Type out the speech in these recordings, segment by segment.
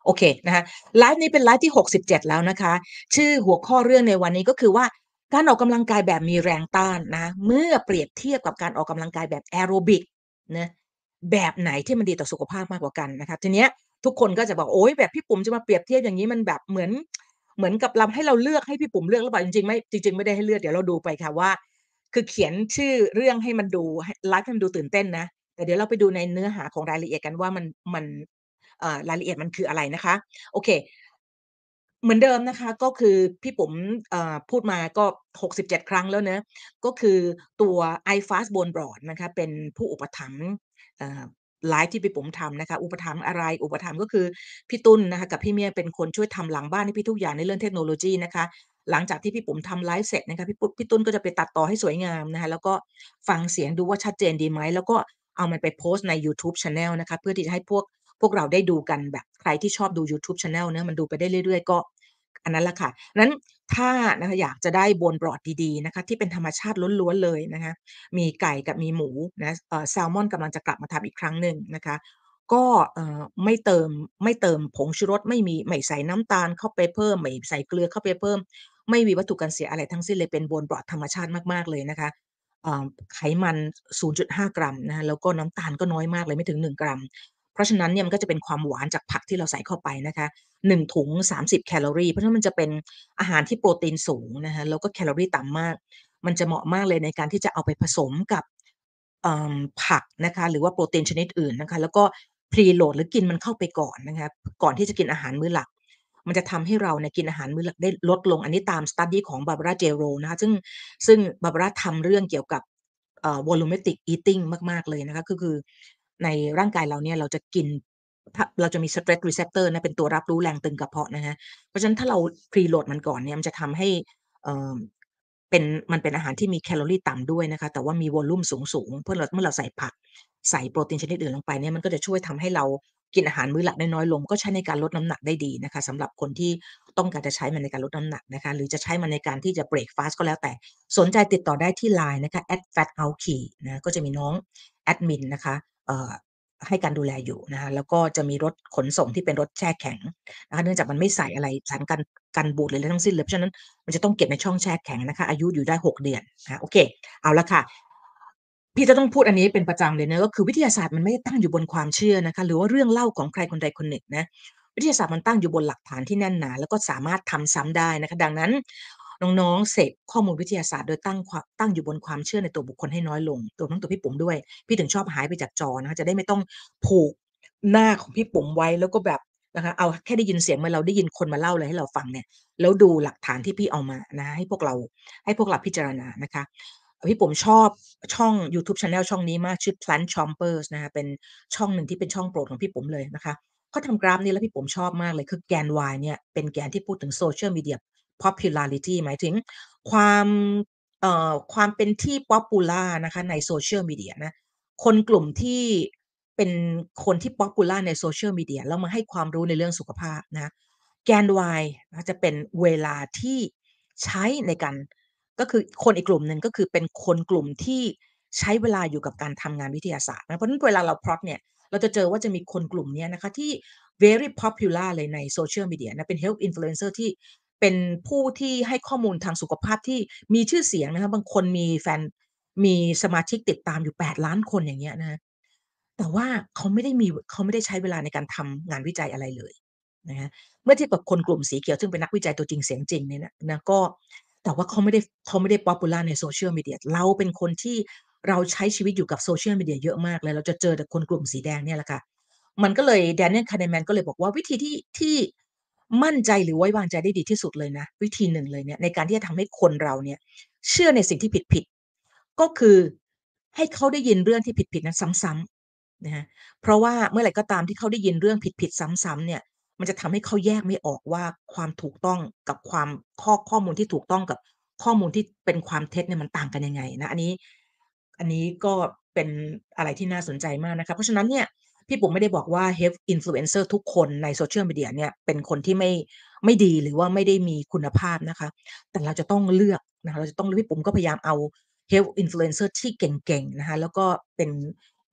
โอเคนะคะไลฟ์นี้เป็นไลฟ์ที่67แล้วนะคะชื่อหัวข้อเรื่องในวันนี้ก็คือว่าการออกกำลังกายแบบมีแรงต้านนะเมื่อเปรียบเทียบกับการออกกำลังกายแบบแอโรบิกนะแบบไหนที่มันดีต่อสุขภาพมากกว่ากันนะคะทีเนี้ยทุกคนก็จะบอกโอ๊ยแบบพี่ปุ๋มจะมาเปรียบเทียบอย่างนี้มันแบบเหมือนกับเราให้เราเลือกให้พี่ปุ๋มเลือกหรือเปล่าจริงๆไม่ได้ให้เลือกเดี๋ยวเราดูไปค่ะว่าคือเขียนชื่อเรื่องให้มันดูให้ไลฟ์ให้มันดูตื่นเต้นนะแต่เดี๋ยวเราไปดูในเนื้อหาของรายละเอียดกันว่ามันรายละเอียดมันคืออะไรนะคะโอเคเหมือนเดิมนะคะก็คือพี่ปุ๋มพูดมาก็67ครั้งแล้วเนาะก็คือตัว iFast Bone Broth นะคะเป็นผู้อุปถัมภ์เอ่อไลฟ์ที่พี่ปุ๋มทำนะคะอุปถัมภ์อะไรอุปถัมภ์ก็คือพี่ตุ้นนะคะกับพี่เมียเป็นคนช่วยทำหลังบ้านให้พี่ทุกอย่างในเรื่องเทคโนโลยีนะคะหลังจากที่พี่ปุ๋มทำไลฟ์เสร็จนะคะพี่ตุ้นก็จะไปตัดต่อให้สวยงามนะคะแล้วก็ฟังเสียงดูว่าชัดเจนดีไหมแล้วก็เอามันไปโพสต์ในยูทูบ channel นะคะเพื่อที่จะให้พวกเราได้ดูกันแบบใครที่ชอบดูยูทูบ channel เนาะมันดูไปได้เรื่อยๆก็อันนั้นแหละค่ะนั้นถ้านะคะอยากจะได้โบน broth ดีๆนะคะที่เป็นธรรมชาติล้วนๆเลยนะคะมีไก่กับมีหมูนะแซลมอนกำลังจะกลับมาทำอีกครั้งหนึ่งนะคะก็ไม่เติมผงชูรสไม่ใส่น้ำตาลเข้าไปเพิ่มไม่ใส่เกลือเข้าไปเพิ่มไม่มีวัตถุกันเสียอะไรทั้งสิ้นเลยเป็นโบน broth ธรรมชาติมากๆเลยนะคะอ่าไขมัน 0.5 กรัมนะคะแล้วก็น้ำตาลก็น้อยมากเลยไม่ถึง1กรัม เพราะฉะนั้นเนี่ยมันก็จะเป็นความหวานจากผักที่เราใส่เข้าไปนะคะ1ถุง30แคลอรีเพราะฉะนั้นมันจะเป็นอาหารที่โปรตีนสูงนะคะแล้วก็แคลอรีต่ำมากมันจะเหมาะมากเลยในการที่จะเอาไปผสมกับผักนะคะหรือว่าโปรตีนชนิดอื่นนะคะแล้วก็ preload หรือกินมันเข้าไปก่อนนะคะก่อนที่จะกินอาหารมื้อหลักมันจะทำให้เราเนี่ยกินอาหารมื้อหลักได้ลดลงอันนี้ตาม study ของ Barbara Jero นะคะซึ่ง Barbara ทำเรื่องเกี่ยวกับvolumetric eating มากๆเลยนะคะก็คือในร่างกายเราเนี่ยเราจะกินถ้าเราจะมี stress receptor นะเป็นตัวรับรู้แรงตึงกระเพาะนะคะเพราะฉะนั้นถ้าเรา preload มันก่อนเนี่ยมันจะทำให้เอ่อเป็นมันเป็นอาหารที่มีแคลอรีต่ำด้วยนะคะแต่ว่ามีวอลลุมสูงๆเมื่อเราใส่ผักใส่โปรตีนชนิดอื่นลงไปเนี่ยมันก็จะช่วยทำให้เรากินอาหารมื้อหลักได้น้อยลงก็ใช้ในการลดน้ำหนักได้ดีนะคะสำหรับคนที่ต้องการจะใช้มันในการลดน้ำหนักนะคะหรือจะใช้มันในการที่จะเบรกฟาสต์ก็แล้วแต่สนใจติดต่อได้ที่ LINE นะคะ @fatout นะก็จะมีน้องแอดมินนะคะเอ่อให้การดูแลอยู่นะคะแล้วก็จะมีรถขนส่งที่เป็นรถแช่แข็งนะคะเนื่องจากมันไม่ใส่อะไรสารกันบูดหรืออะไรทั้งสิ้นเลยเพราะฉะนั้นมันจะต้องเก็บในช่องแช่แข็งนะคะอายุอยู่ได้6เดือนนะคะโอเคเอาละค่ะพี่จะต้องพูดอันนี้เป็นประจำเลยนะก็คือวิทยาศาสตร์มันไม่ได้ตั้งอยู่บนความเชื่อนะคะหรือว่าเรื่องเล่าของใครคนใดคนหนึ่งนะวิทยาศาสตร์มันตั้งอยู่บนหลักฐานที่แน่นหนาแล้วก็สามารถทำซ้ำได้นะคะดังนั้นน้องๆเสพข้อมูลวิทยาศาสตร์โดยตั้งอยู่บนความเชื่อในตัวบุคคลให้น้อยลงรวมทั้งตัวพี่ปุ๋มด้วยพี่ถึงชอบหายไปจากจอนะคะจะได้ไม่ต้องผูกหน้าของพี่ปุ๋มไว้แล้วก็แบบนะคะเอาแค่ได้ยินเสียงเมื่อเราได้ยินคนมาเล่าอะไรให้เราฟังเนี่ยแล้วดูหลักฐานที่พี่เอามานะให้พวกเราพิจารณานะคะ พี่ผมชอบช่องยูทูบ channel ช่องนี้มากชื่อ Plant Chompers นะคะเป็นช่องหนึ่งที่เป็นช่องโปรดของพี่ผมเลยนะคะเขาทำกราฟนี้แล้วพี่ผมชอบมากเลยคือแกน Y เนี่ยเป็นแกนที่พูดถึง Social Media Popularity หมายถึงความความเป็นที่ Popular นะคะใน Social Media นะคนกลุ่มที่เป็นคนที่ Popular ใน Social Media แล้วมาให้ความรู้ในเรื่องสุขภาพนะแกน Y นะจะเป็นเวลาที่ใช้ในการ ก็คือคนอีกกลุ่มหนึ่งก็คือเป็นคนกลุ่มที่ใช้เวลาอยู่กับการทำงานวิทยาศาสตร์นะเพราะฉะนั้นเวลาเราพลอตเนี่ยเราจะเจอว่าจะมีคนกลุ่มเนี้ยนะคะที่ very popular เลยใน Social Media นะเป็น Health Influencer ที่เป็นผู้ที่ให้ข้อมูลทางสุขภาพที่มีชื่อเสียงนะคะบางคนมีสมาชิกติดตามอยู่8,000,000คนอย่างเงี้ยนะคะแต่ว่าเขาไม่ได้ใช้เวลาในการทำงานวิจัยอะไรเลยนะคะเมื่อเทียบกับคนกลุ่มสีเขียวซึ่งเป็นนักวิจัยตัวจริงเสียงจริงเนี่ยนะก็ แต่ว่าเขาไม่ได้ popular ใน Social Media เราเป็นคนที่เราใช้ชีวิตอยู่กับ Social Media เยอะมากเลยเราจะเจอแต่คนกลุ่มสีแดงเนี่ยแหละค่ะมันก็เลย Daniel Kahneman ก็เลยบอกว่าวิธีที่มั่นใจหรือไว้วางใจได้ดีที่สุดเลยนะวิธีหนึ่งเลยเนี่ยในการที่จะทำให้คนเราเนี่ยเชื่อในสิ่งที่ผิดๆก็คือให้เขาได้ยินเรื่องที่ผิดๆนั้นซ้ำๆนะคะเพราะว่าเมื่อไหร่ก็ตามที่เขาได้ยินเรื่องผิดๆซ้ำๆเนี่ย มันจะทำให้เขาแยกไม่ออกว่าความถูกต้องกับความข้อมูลที่ถูกต้องกับข้อมูลที่เป็นความเท็จเนี่ยมันต่างกันยังไงนะอันนี้ก็เป็นอะไรที่น่าสนใจมากนะคะเพราะฉะนั้นเนี่ยพี่ปุ๋มไม่ได้บอกว่า Health Influencer ทุกคนใน Social Media เนี่ยเป็นคนที่ไม่ดีหรือว่าไม่ได้มีคุณภาพนะคะแต่เราจะต้องเลือกนะคะเราจะต้องพี่ปุ๋มก็พยายามเอา Health Influencer ที่เก่งๆนะคะแล้วก็เป็น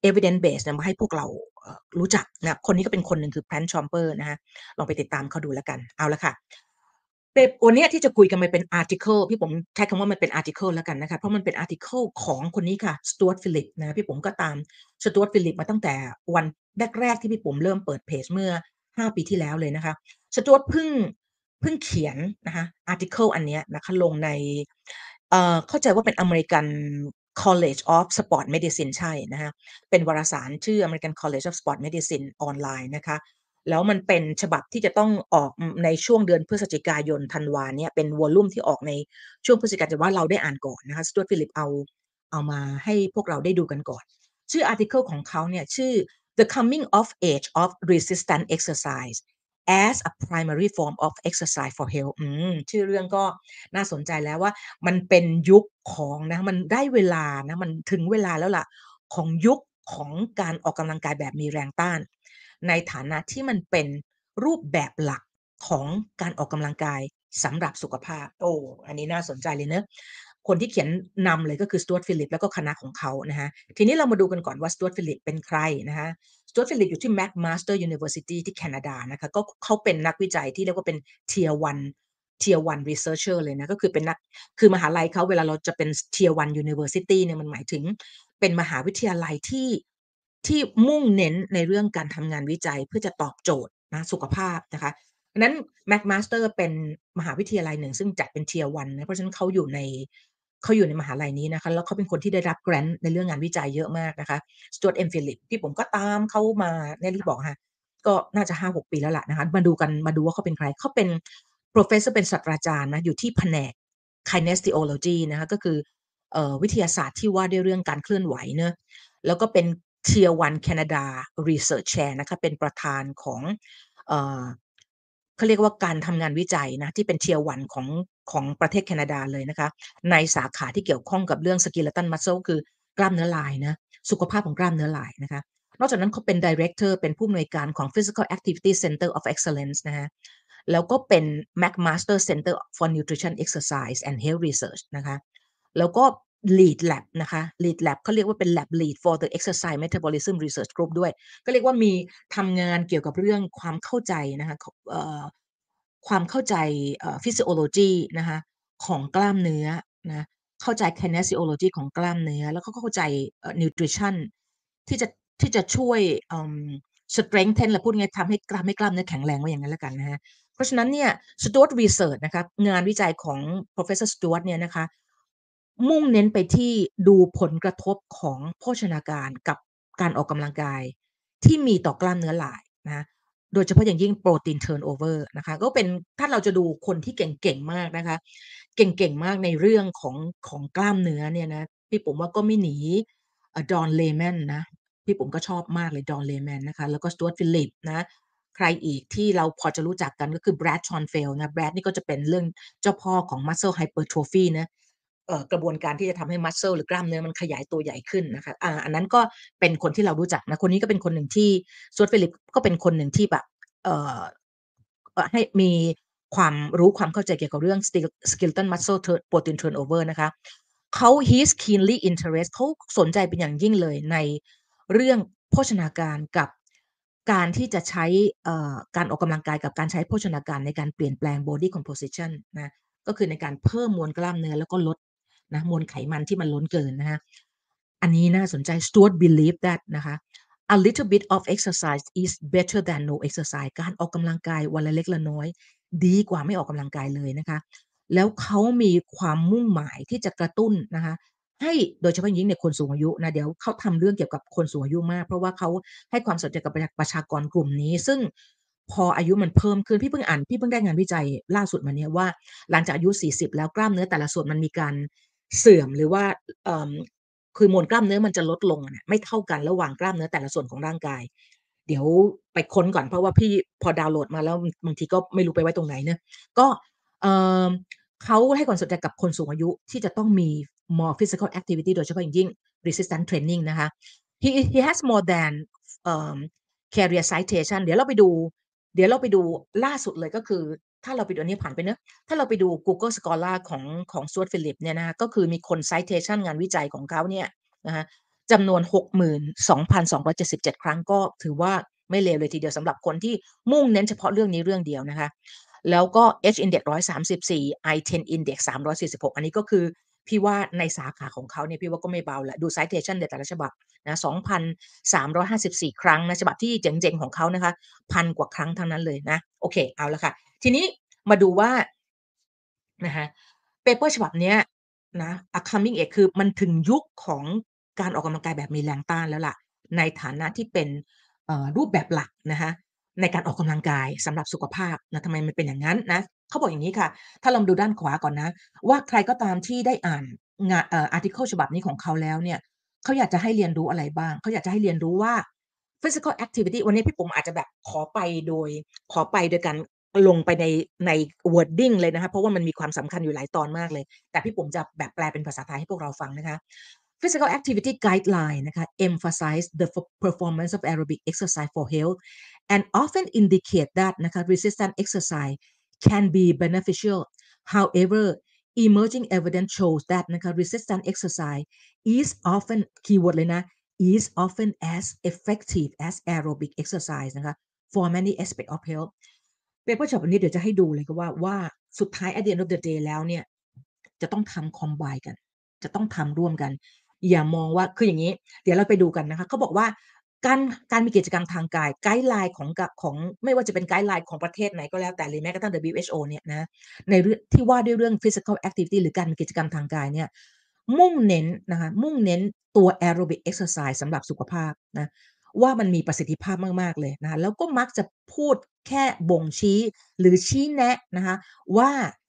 evidence base เนี่ยมาให้พวกเรารู้จักนะคนนี้ก็เป็นคนหนึ่งคือ Brent Chomper นะคะลองไปติดตามเขาดูแล้วกันเอาละค่ะวันนี้ที่จะคุยกันมันเป็น article พี่ผมใช้คำว่ามันเป็น article แล้วกันนะคะเพราะมันเป็น article ของคนนี้ค่ะ Stuart Phillips นะพี่ผมก็ตาม Stuart Phillips มาตั้งแต่วันแรกๆที่พี่ผมเริ่มเปิดเพจเมื่อ5 ปีที่แล้วเลยนะคะ Stuart เพิ่งเขียนนะคะ article อันเนี้ยนะคะลงในเข้าใจว่าเป็น American College of Sport Medicine ใช่นะคะเป็นวารสารชื่อ American College of Sport Medicine ออนไลน์นะคะแล้วมันเป็นฉบับที่จะต้องออกในช่วงเดือนพฤศจิกายนธันวาเนี่ยเป็นวอลลุ่มที่ออกในช่วงพฤศจิกายนแต่ว่าเราได้อ่านก่อนนะคะ Stuart Phillips เอามาให้พวกเราได้ดูกันก่อนชื่อ article ของเขาเนี่ยชื่อ The Coming of Age of Resistance Exercise as a primary form of exercise for health ชื่อเรื่องก็น่าสนใจแล้วว่ามันเป็นยุคของนะมันได้เวลานะมันถึงเวลาแล้วล่ะของยุคของการออกกำลังกายแบบมีแรงต้านในฐานะที่มันเป็นรูปแบบหลักของการออกกำลังกายสำหรับสุขภาพโอ้อันนี้น่าสนใจเลยเนอะคนที่เขียนนำเลยก็คือ Stuart Phillips แล้วก็คณะของเขานะคะทีนี้เรามาดูกันก่อนว่า Stuart Phillips เป็นใครนะคะ Stuart Phillips อยู่ที่ McMaster University ที่แคนาดานะคะก็เขาเป็นนักวิจัยที่เรียกว่าเป็น Tier 1 researcher เลยนะก็คือเป็นนักคือมหาลัยเขาเวลาเราจะเป็น Tier 1 University เนี่ยมันหมายถึงเป็นมหาวิทยาลัยที่มุ่งเน้นในเรื่องการทำงานวิจัยเพื่อจะตอบโจทย์นะสุขภาพนะคะดังนั้น McMaster เป็นมหาวิทยาลัยหนึ่งซึ่งจัดเป็น Tier 1นะเพราะฉะนั้นเขาอยู่ในมหาลัยนี้นะคะแล้วเขาเป็นคนที่ได้รับ grant ในเรื่องงานวิจัยเยอะมากนะคะ Stuart M. Phillips ที่ผมก็ตามเขามาเนี่ยที่บอกค่ะก็น่าจะ5-6 ปีแล้วล่ะนะคะมาดูว่าเขาเป็นใครเขาเป็น professor เป็นศาสตราจารย์นะอยู่ที่แผนก kinesiology นะคะก็คือวิทยาศาสตร์ที่ว่าด้วยเรื่องการเคลื่อนไหวเนอะแล้วก็เป็น Tier 1 Canada Research Chair นะคะเป็นประธานของเอ่อเขาเรียกว่าการทำงานวิจัยนะที่เป็น Tier 1ของประเทศแคนาดาเลยนะคะในสาขาที่เกี่ยวข้องกับเรื่อง skeletal muscle คือกล้ามเนื้อลายนะสุขภาพของกล้ามเนื้อลายนะคะนอกจากนั้นเขาเป็น Director เป็นผู้อำนวยการของ Physical Activity Center of Excellence นะคะแล้วก็เป็น McMaster Center for Nutrition Exercise and Health Research นะคะแล้วก็ Lead Lab นะคะ Lead Lab เขาเรียกว่าเป็น Lab Lead for the Exercise Metabolism Research Group ด้วยก็เรียกว่ามีทำงานเกี่ยวกับเรื่องความเข้าใจนะคะความเข้าใจphysiology นะคะของกล้ามเนื้อนะเข้าใจ kinesiology ของกล้ามเนื้อแล้วก็เข้าใจnutrition ที่จะที่จะช่วยstrengthen หรือพูดง่ายๆทำให้กล้ามเนื้อแข็งแรงว่าอย่างนั้นแล้วกันนะคะเพราะฉะนั้นเนี่ย Stuart Research นะคะงานวิจัยของ Professor Stuart เนี่ยนะคะมุ่งเน้นไปที่ดูผลกระทบของโภชนาการกับการออกกำลังกายที่มีต่อกล้ามเนื้อหลายนะโดยเฉพาะอย่างยิ่ง protein turnover นะคะก็เป็นถ้าเราจะดูคนที่เก่งๆมากนะคะเก่งๆมากในเรื่องของกล้ามเนื้อเนี่ยนะพี่ผมว่าก็ไม่หนีDon Lemon นะพี่ผมก็ชอบมากเลย Don Lemon นะคะแล้วก็ Stuart Phillips นะใครอีกที่เราพอจะรู้จักกันก็คือ Brad Schoenfeld นะ Brad นี่ก็จะเป็นเรื่องเจ้าพ่อของ muscle hypertrophy นะกระบวนการที่จะทำให้ muscle หรือกล้ามเนื้อมันขยายตัวใหญ่ขึ้นนะคะอันนั้นก็เป็นคนที่เรารู้จักนะคนนี้ก็เป็นคนหนึ่งที่ Stuart Phillips ก็เป็นคนหนึ่งที่แบบเอ่อให้มีความรู้ความเข้าใจเกี่ยวกับเรื่อง skeletal muscle protein turnover นะคะhe's keenly interest เขาสนใจเป็นอย่างยิ่งเลยในเรื่องโภชนาการกับการที่จะใช้การออกกำลังกายกับการใช้โภชนาการในการเปลี่ยนแปลง body composition นะก็คือในการเพิ่มมวลกล้ามเนื้อแล้วก็ลดนะมวลไขมันที่มันล้นเกินนะคะอันนี้น่าสนใจ Stuart believe that นะคะ a little bit of exercise is better than no exercise การออกกำลังกายวันละเล็กละน้อยดีกว่าไม่ออกกำลังกายเลยนะคะแล้วเขามีความมุ่งหมายที่จะกระตุ้นนะคะให้โดยเฉพาะยิ่งในคนสูงอายุนะเดี๋ยวเขาทำเรื่องเกี่ยวกับคนสูงอายุมากเพราะว่าเขาให้ความสนใจกับประชากรกลุ่มนี้ซึ่งพออายุมันเพิ่มขึ้นพี่เพิ่งได้งานวิจัยล่าสุดมาเนี่ยว่าหลังจากอายุ40แล้วกล้ามเนื้อแต่ละส่วนมันมีการเสื่อมหรือว่าคือมวลกล้ามเนื้อมันจะลดลงเนี่ยไม่เท่ากันระหว่างกล้ามเนื้อแต่ละส่วนของร่างกายเดี๋ยวไปค้นก่อนเพราะว่าพี่พอดาวน์โหลดมาแล้วบางทีก็ไม่รู้ไปไว้ตรงไหนเนะก็เอ่อเขาให้ความสนใจกับคนสูงอายุที่จะต้องมี more physical activity โดยเฉพาะอย่างยิ่ง resistance training นะคะ he has more than เอ่อ career citation เดี๋ยวเราไปดูล่าสุดเลยก็คือถ้าเราไปดูอันนี้ผ่านไปเนอะถ้าเราไปดู Google Scholar ของ Stuart Phillips เนี่ยนะคะก็คือมีคน citation งานวิจัยของเขาเนี่ยนะคะจำนวน 62,277 ครั้งก็ถือว่าไม่เลวเลยทีเดียวสำหรับคนที่มุ่งเน้นเฉพาะเรื่องนี้เรื่องเดียวนะคะแล้วก็ H-index 134 I10 index 346อันนี้ก็คือพี่ว่าในสาขาของเขาเนี่ยพี่ว่าก็ไม่เบาแหละดู citation ในแต่ละฉบับนะ2,354 ครั้งนะฉบับที่เจ๋งๆของเขานะคะ1,000กว่าครั้งทั้งนั้นเลยนะโอเคเอาละค่ะทีนี้มาดูว่านะคะเปเปอร์ฉบับเนี้ยนะ A Coming Age คือมันถึงยุคของการออกกำลังกายแบบมีแรงต้านแล้วล่ะในฐานะที่เป็นรูปแบบหลักนะคะในการออกกำลังกายสำหรับสุขภาพนะทำไมมันเป็นอย่างนั้นนะเขาบอกอย่างนี้ค่ะถ้าลองดูด้านขวาก่อนนะว่าใครก็ตามที่ได้อ่านอาร์ติเคิลฉบับนี้ของเขาแล้วเนี่ยเขาอยากจะให้เรียนรู้อะไรบ้างเขาอยากจะให้เรียนรู้ว่า physical activity วันนี้พี่ปุ๋มอาจจะแบบขอไปโดยการลงไปใน wording เลยนะคะเพราะว่ามันมีความสำคัญอยู่หลายตอนมากเลยแต่พี่ปุ๋มจะแบบแปลเป็นภาษาไทยให้พวกเราฟังนะคะ Physical activity guideline นะคะ emphasize the performance of aerobic exercise for health and often indicate that นะคะ resistance exercise can be beneficial. However, emerging evidence shows that นะคะ resistance exercise is often keyword เลยนะ is often as effective as aerobic exercise นะคะ for many aspects of health เปเปอร์ฉบับนี้เดี๋ยวจะให้ดูเลยก็ว่าสุดท้าย at the end of the day แล้วเนี่ยจะต้องทำ combine กันจะต้องทำร่วมกันอย่ามองว่าคืออย่างนี้เดี๋ยวเราไปดูกันนะคะเขาบอกว่าการการมีกิจกรรมทางกายไกด์ไลน์ของไม่ว่าจะเป็นไกด์ไลน์ของประเทศไหนก็แล้วแต่หรือแม้กระทั่ง WHO เนี่ยนะในเรื่องที่ว่าด้วยเรื่อง physical activity หรือการมีกิจกรรมทางกายเนี่ยมุ่งเน้นนะคะมุ่งเน้นตัว aerobic exercise สำหรับสุขภาพนะว่ามันมีประสิทธิภาพมากๆเลยนะคะแล้วก็มักจะพูดแค่บ่งชี้หรือชี้แนะนะคะว่า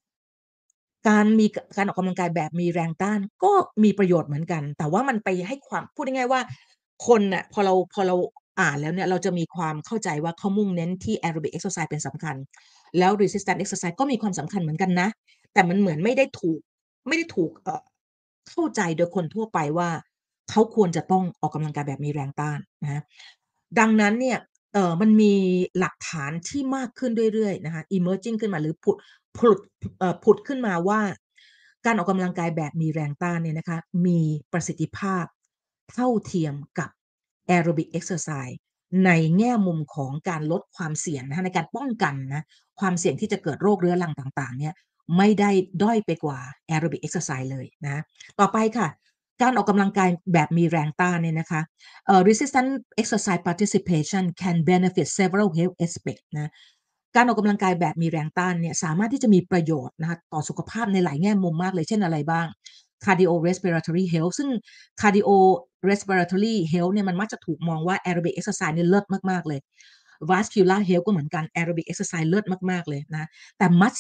การออกกำลังกายแบบมีแรงต้านก็มีประโยชน์เหมือนกันแต่ว่ามันไปให้ความพูดง่ายๆว่าคนน่ะพอเราอ่านแล้วเนี่ยเราจะมีความเข้าใจว่าเขามุ่งเน้นที่ aerobic exercise เป็นสำคัญแล้ว resistance exercise ก็มีความสำคัญเหมือนกันนะแต่มันเหมือนไม่ได้ถูกเข้าใจโดยคนทั่วไปว่าเขาควรจะต้องออกกำลังกายแบบมีแรงต้านนะคะดังนั้นเนี่ยมันมีหลักฐานที่มากขึ้นเรื่อยๆนะคะ emerging ขึ้นมาหรือผุดผุดขึ้นมาว่าการออกกำลังกายแบบมีแรงต้านเนี่ยนะคะมีประสิทธิภาพเท่าเทียมกับ aerobic exercise ในแง่มุมของการลดความเสี่ยงนะคะในการป้องกันนะความเสี่ยงที่จะเกิดโรคเรื้อรังต่างๆเนี่ยไม่ได้ด้อยไปกว่า aerobic exercise เลยนะต่อไปค่ะการออกกำลังกายแบบมีแรงต้านเนี่ยนะคะresistant exercise participation can benefit several health aspects นะการออกกำลังกายแบบมีแรงต้านเนี่ยสามารถที่จะมีประโยชน์นะคะต่อสุขภาพในหลายแง่มุมมากเลยเช่นอะไรบ้าง cardiorespiratory health ซึ่ง cardiorespiratory health เนี่ยมันมักจะถูกมองว่า aerobic exercise เนี่ยเลิศมากๆเลย vascular health ก็เหมือนกัน aerobic exercise เลิศมากๆเลยนะแต่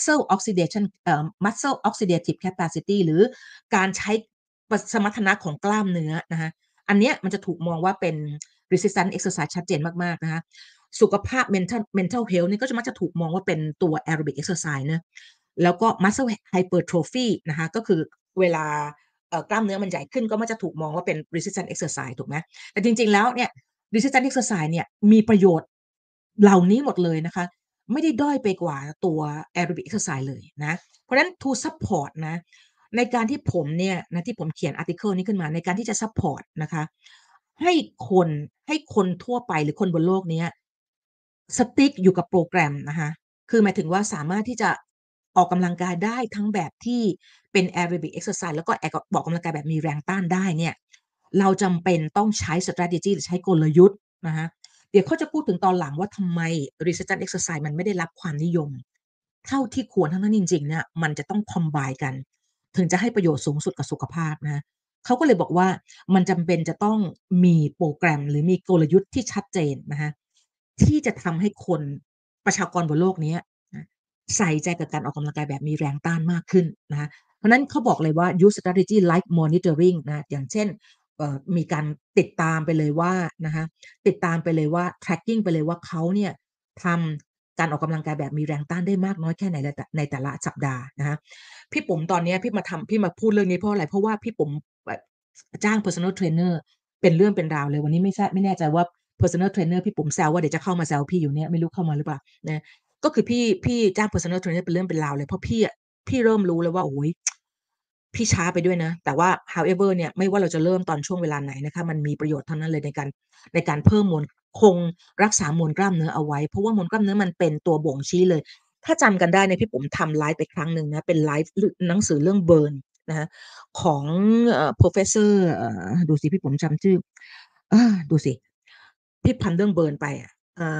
muscle oxidative capacity หรือการใช้สมรรถนะของกล้ามเนื้อนะคะอันเนี้ยมันจะถูกมองว่าเป็น resistant exercise ชัดเจนมากๆนะคะสุขภาพ mental health นี่ก็จะมักจะถูกมองว่าเป็นตัว aerobic exercise นะแล้วก็ muscle hypertrophy นะคะก็คือเวลากล้ามเนื้อมันใหญ่ขึ้นก็มักจะถูกมองว่าเป็น resistant exercise ถูกไหมแต่จริงๆแล้วเนี่ย resistant exercise เนี่ยมีประโยชน์เหล่านี้หมดเลยนะคะไม่ได้ด้อยไปกว่าตัว aerobic exercise เลยนะเพราะฉะนั้น to support นะในการที่ผมเนี่ยนะที่ผมเขียน article นี้ขึ้นมาในการที่จะ support นะคะให้คนให้คนทั่วไปหรือคนบนโลกเนี้ย stick อยู่กับโปรแกรมนะคะคือหมายถึงว่าสามารถที่จะออกกำลังกายได้ทั้งแบบที่เป็น aerobic exercise แล้วก็ออกกำลังกายแบบมีแรงต้านได้เนี่ยเราจำเป็นต้องใช้ strategy หรือใช้กลยุทธ์นะคะเดี๋ยวเขาจะพูดถึงตอนหลังว่าทำไม resistance exercise มันไม่ได้รับความนิยมเท่าที่ควรทั้งนั้นจริงๆเนี่ยมันจะต้อง combine กันถึงจะให้ประโยชน์สูงสุดกับสุขภาพนะคะเขาก็เลยบอกว่ามันจำเป็นจะต้องมีโปรแกรมหรือมีกลยุทธ์ที่ชัดเจนนะคะที่จะทำให้คนประชากรบนโลกนี้นะใส่ใจกับการออกกำลังกายแบบมีแรงต้านมากขึ้นนะคะเพราะนั้นเขาบอกเลยว่า use strategy like monitoring นะอย่างเช่นมีการติดตามไปเลยว่านะคะติดตามไปเลยว่า tracking ไปเลยว่าเขาเนี่ยทำการออกกำลังกายแบบมีแรงต้านได้มากน้อยแค่ไหนในแต่ละสัปดาห์นะคะพี่ปุ๋มตอนนี้พี่มาพูดเรื่องนี้เพราะอะไรเพราะว่าพี่ปุ๋มแบบจ้าง personal trainer เป็นเรื่องเป็นราวเลยวันนี้ไม่แน่ใจว่า personal trainer พี่ปุ๋มแซวว่าเดี๋ยวจะเข้ามาแซวพี่อยู่เนี่ยไม่รู้เข้ามาหรือเปล่านะก็คือพี่จ้าง personal trainer เป็นเรื่องเป็นราวเลยเพราะพี่เริ่มรู้แล้วว่าโอ้โฮพี่ช้าไปด้วยนะแต่ว่า however เนี่ยไม่ว่าเราจะเริ่มตอนช่วงเวลาไหนนะคะมันมีประโยชน์เท่านั้นเลยในการเพิ่มมวลคงรักษามวลกล้ามเนื้อเอาไว้เพราะว่ามวลกล้ามเนื้อมันเป็นตัวบ่งชี้เลยถ้าจำกันได้เนี่ยพี่ปุ๋มทำไลฟ์ไปครั้งหนึ่งนะเป็นไลฟ์หนังสือเรื่อง Burn นะคะของProfessor ดูสิพี่ปุ๋มจำชื่อดูสิพี่พันเรื่อง Burn ไปอะ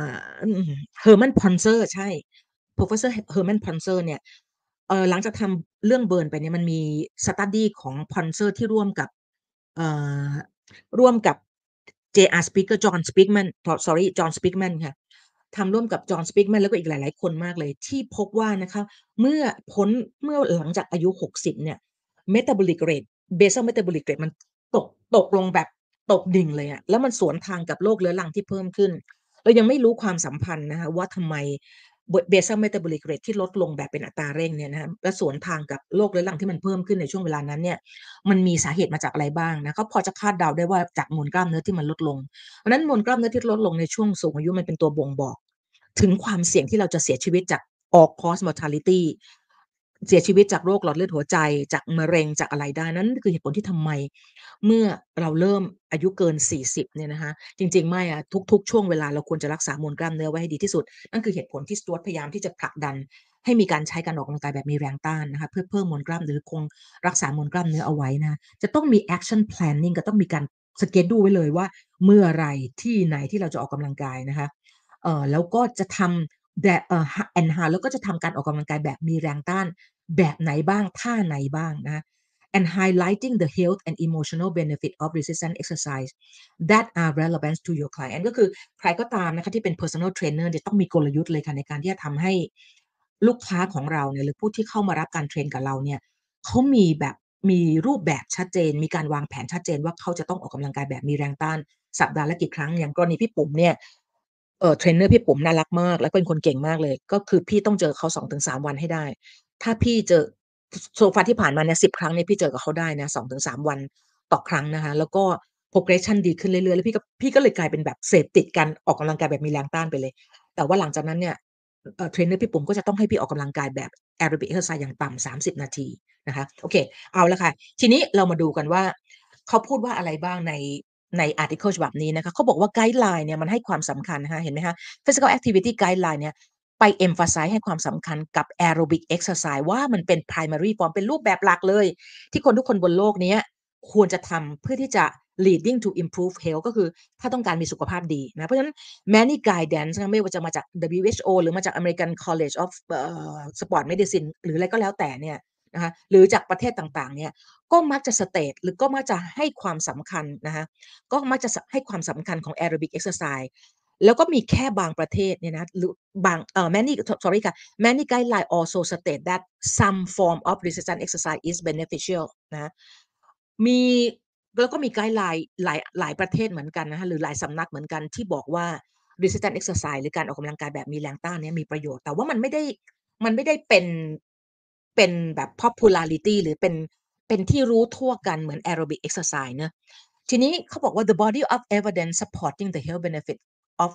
Herman Ponzer ใช่ Professor Herman Ponzer เนี่ยหลังจากทำเรื่อง Burn ไปเนี่ยมันมี study ของ Ponzer ที่เอ่อร่วมกับ J.R. Speaker John Speakman sorry John Speakman ค่ะทำร่วมกับ John Speakman แล้วก็อีกหลายๆคนมากเลยที่พบว่านะคะเมื่อพ้นเมื่อหลังจากอายุ60เนี่ย metabolic rate basal metabolic rate มันตกตกลงแบบตกดิ่งเลยอะแล้วมันสวนทางกับโรคเรื้อรังที่เพิ่มขึ้นเรายังไม่รู้ความสัมพันธ์นะคะว่าทำไม basal metabolic rate ที่ลดลงแบบเป็นอัตราเร่งเนี่ยนะคะและสวนทางกับโรคเรื้อรังที่มันเพิ่มขึ้นในช่วงเวลานั้นเนี่ยมันมีสาเหตุมาจากอะไรบ้างนะก็พอจะคาดเดาได้ว่าจากมวลกล้ามเนื้อที่มันลดลงเพราะฉะนั้นมวลกล้ามเนื้อที่ลดลงในช่วงสูงอายุมันเป็นตัวบ่งบอกถึงความเสี่ยงที่เราจะเสียชีวิตจาก all cause mortality เสียชีวิตจากโรคหลอดเลือดหัวใจจากมะเร็งจากอะไรได้นั่นคือเหตุผลที่ทำไมเมื่อเราเริ่มอายุเกิน40เนี่ยนะคะจริงๆไม่อะทุกๆช่วงเวลาเราควรจะรักษามวลกล้ามเนื้อไว้ให้ดีที่สุดนั่นคือเหตุผลที่ Stuart พยายามที่จะผลักดันให้มีการใช้การออกกำลังกายแบบมีแรงต้านนะคะเพื่อเพิ่มมวลกล้ามเนื้อคงรักษามวลกล้ามเนื้อเอาไว้นะจะต้องมี action planning ก็ต้องมีการสเกจดูไว้เลยว่าเมื่อไรที่ไหนที่เราจะออกกำลังกายนะคะแล้วก็จะทำแบบenhance แล้วก็จะทำการออกกำลังกายแบบมีแรงต้านแบบไหนบ้างท่าไหนบ้างนะคะ and highlighting the health and emotional benefit of resistance exercise that are relevant to your client ก็คือใครก็ตามนะคะที่เป็น personal trainer จะต้องมีกลยุทธ์เลยค่ะในการที่จะทำให้ลูกค้าของเราเนี่ยหรือผู้ที่เข้ามารับการเทรนกับเราเนี่ยเขามีแบบมีรูปแบบชัดเจนมีการวางแผนชัดเจนว่าเขาจะต้องออกกำลังกายแบบมีแรงต้านสัปดาห์ละกี่ครั้งอย่างกรณีพี่ปุ๋มเนี่ยเทรนเนอร์พี่ปุ๋มน่ารักมากและเป็นคนเก่งมากเลยก็คือพี่ต้องเจอเขา2-3วันให้ได้ถ้าพี่เจอโซฟาที่ผ่านมาเนี่ย10ครั้งเนี่ยพี่เจอกับเขาได้นะ2-3วันต่อครั้งนะคะแล้วก็ progression ดีขึ้นเรื่อยๆแล้วพี่ก็เลยกลายเป็นแบบเสพติดการออกกำลังกายแบบมีแรงต้านไปเลยแต่ว่าหลังจากนั้นเนี่ยเทรนเนอร์พี่ปุ๋มก็จะต้องให้พี่ออกกำลังกายแบบแอโรบิกเอ็กซ์ไซส์อย่างต่ำ30นาทีนะคะโอเคเอาละค่ะทีนี้เรามาดูกันว่าเขาพูดว่าอะไรบ้างในอาร์ติเคิลฉบับนี้นะคะเขาบอกว่าไกด์ไลน์เนี่ยมันให้ความสำคัญนะคะเห็นไหมคะ physical activity guideline เนี่ยไป emphasize ให้ความสำคัญกับ aerobic exercise ว่ามันเป็น primary form เป็นรูปแบบหลักเลยที่คนทุกคนบนโลกนี้ควรจะทำเพื่อที่จะ leading to improve health ก็คือถ้าต้องการมีสุขภาพดีนะเพราะฉะนั้น many guidance ไม่ว่าจะมาจาก WHO หรือมาจาก American College of Sport Medicine หรืออะไรก็แล้วแต่เนี่ยนะคะหรือจากประเทศต่างๆเนี่ยก็มักจะ state หรือก็มักจะให้ความสำคัญนะคะก็มักจะให้ความสำคัญของ aerobic exercise แล้วก็มีแค่บางประเทศเนี่ยนะหรือบางmany sorry ค่ะ many guideline also state that some form of resistance exercise is beneficial นะมีแล้วก็มีไกด์ไลน์หลายประเทศเหมือนกันนะคะหรือหลายสำนักเหมือนกันที่บอกว่า resistance exercise หรือการออกกำลังกายแบบมีแรงต้านเนี่ยมีประโยชน์แต่ว่ามันไม่ได้เป็นแบบ popularity หรือเป็นที่รู้ทั่วกันเหมือน aerobic exercise เนอะทีนี้เขาบอกว่า the body of evidence supporting the health benefit of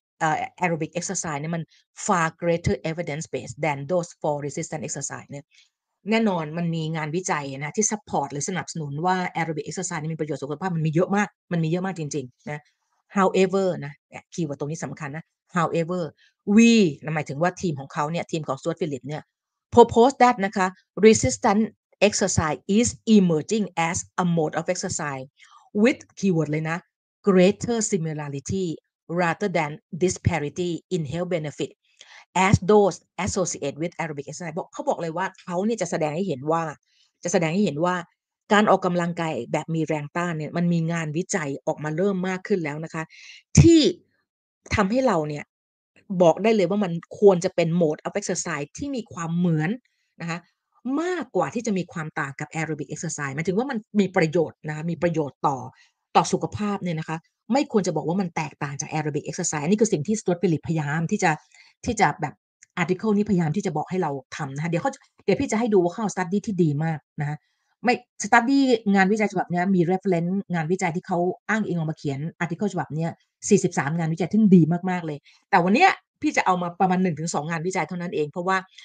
aerobic exercise เนี่ยมัน far greater evidence base than those for resistance exercise เนี่ยแน่นอนมันมีงานวิจัยนะที่ support หรือสนับสนุนว่า aerobic exercise นี่มีประโยชน์สุขภาพมันมีเยอะมากจริงๆนะ however นะคีย์เวิร์ดตรงนี้สำคัญนะ however we หมายถึงว่าทีมของเขาเนี่ยทีมของ Stuart Phillips เนี่ย propose that นะคะ resistance exercise is emerging as a mode of exercise with keyword เลยนะ greater similarity rather than disparity in health benefit as those associated with aerobic exercise เขาบอกเลยว่าเขาเนี่ยจะแสดงให้เห็นว่าการออกกำลังกายแบบมีแรงต้านเนี่ยมันมีงานวิจัยออกมาเริ่มมากขึ้นแล้วนะคะที่ทำให้เราเนี่ยบอกได้เลยว่ามันควรจะเป็น mode of exercise ที่มีความเหมือนนะคะมากกว่าที่จะมีความต่างกับ aerobic exercise หมายถึงว่ามันมีประโยชน์นะคะมีประโยชน์ต่อสุขภาพเนี่ยนะคะไม่ควรจะบอกว่ามันแตกต่างจาก aerobic exercise อันนี้คือสิ่งที่ Stuart Phillips พยายามที่จะแบบ article นี้พยายามที่จะบอกให้เราทำนะคะเดี๋ยวพี่จะให้ดูว่าเข้า study ที่ดีมากนะคะ ไม่ study งานวิจัยฉบับนี้มี reference งานวิจัยที่เขาอ้างอิงออกมาเขียน article ฉบับนี้43งานวิจัยที่ดีมากๆเลยแต่วันนี้พี่จะเอามาประมาณ1-2งานวิจัยเท่านั้นเองเพราะว่า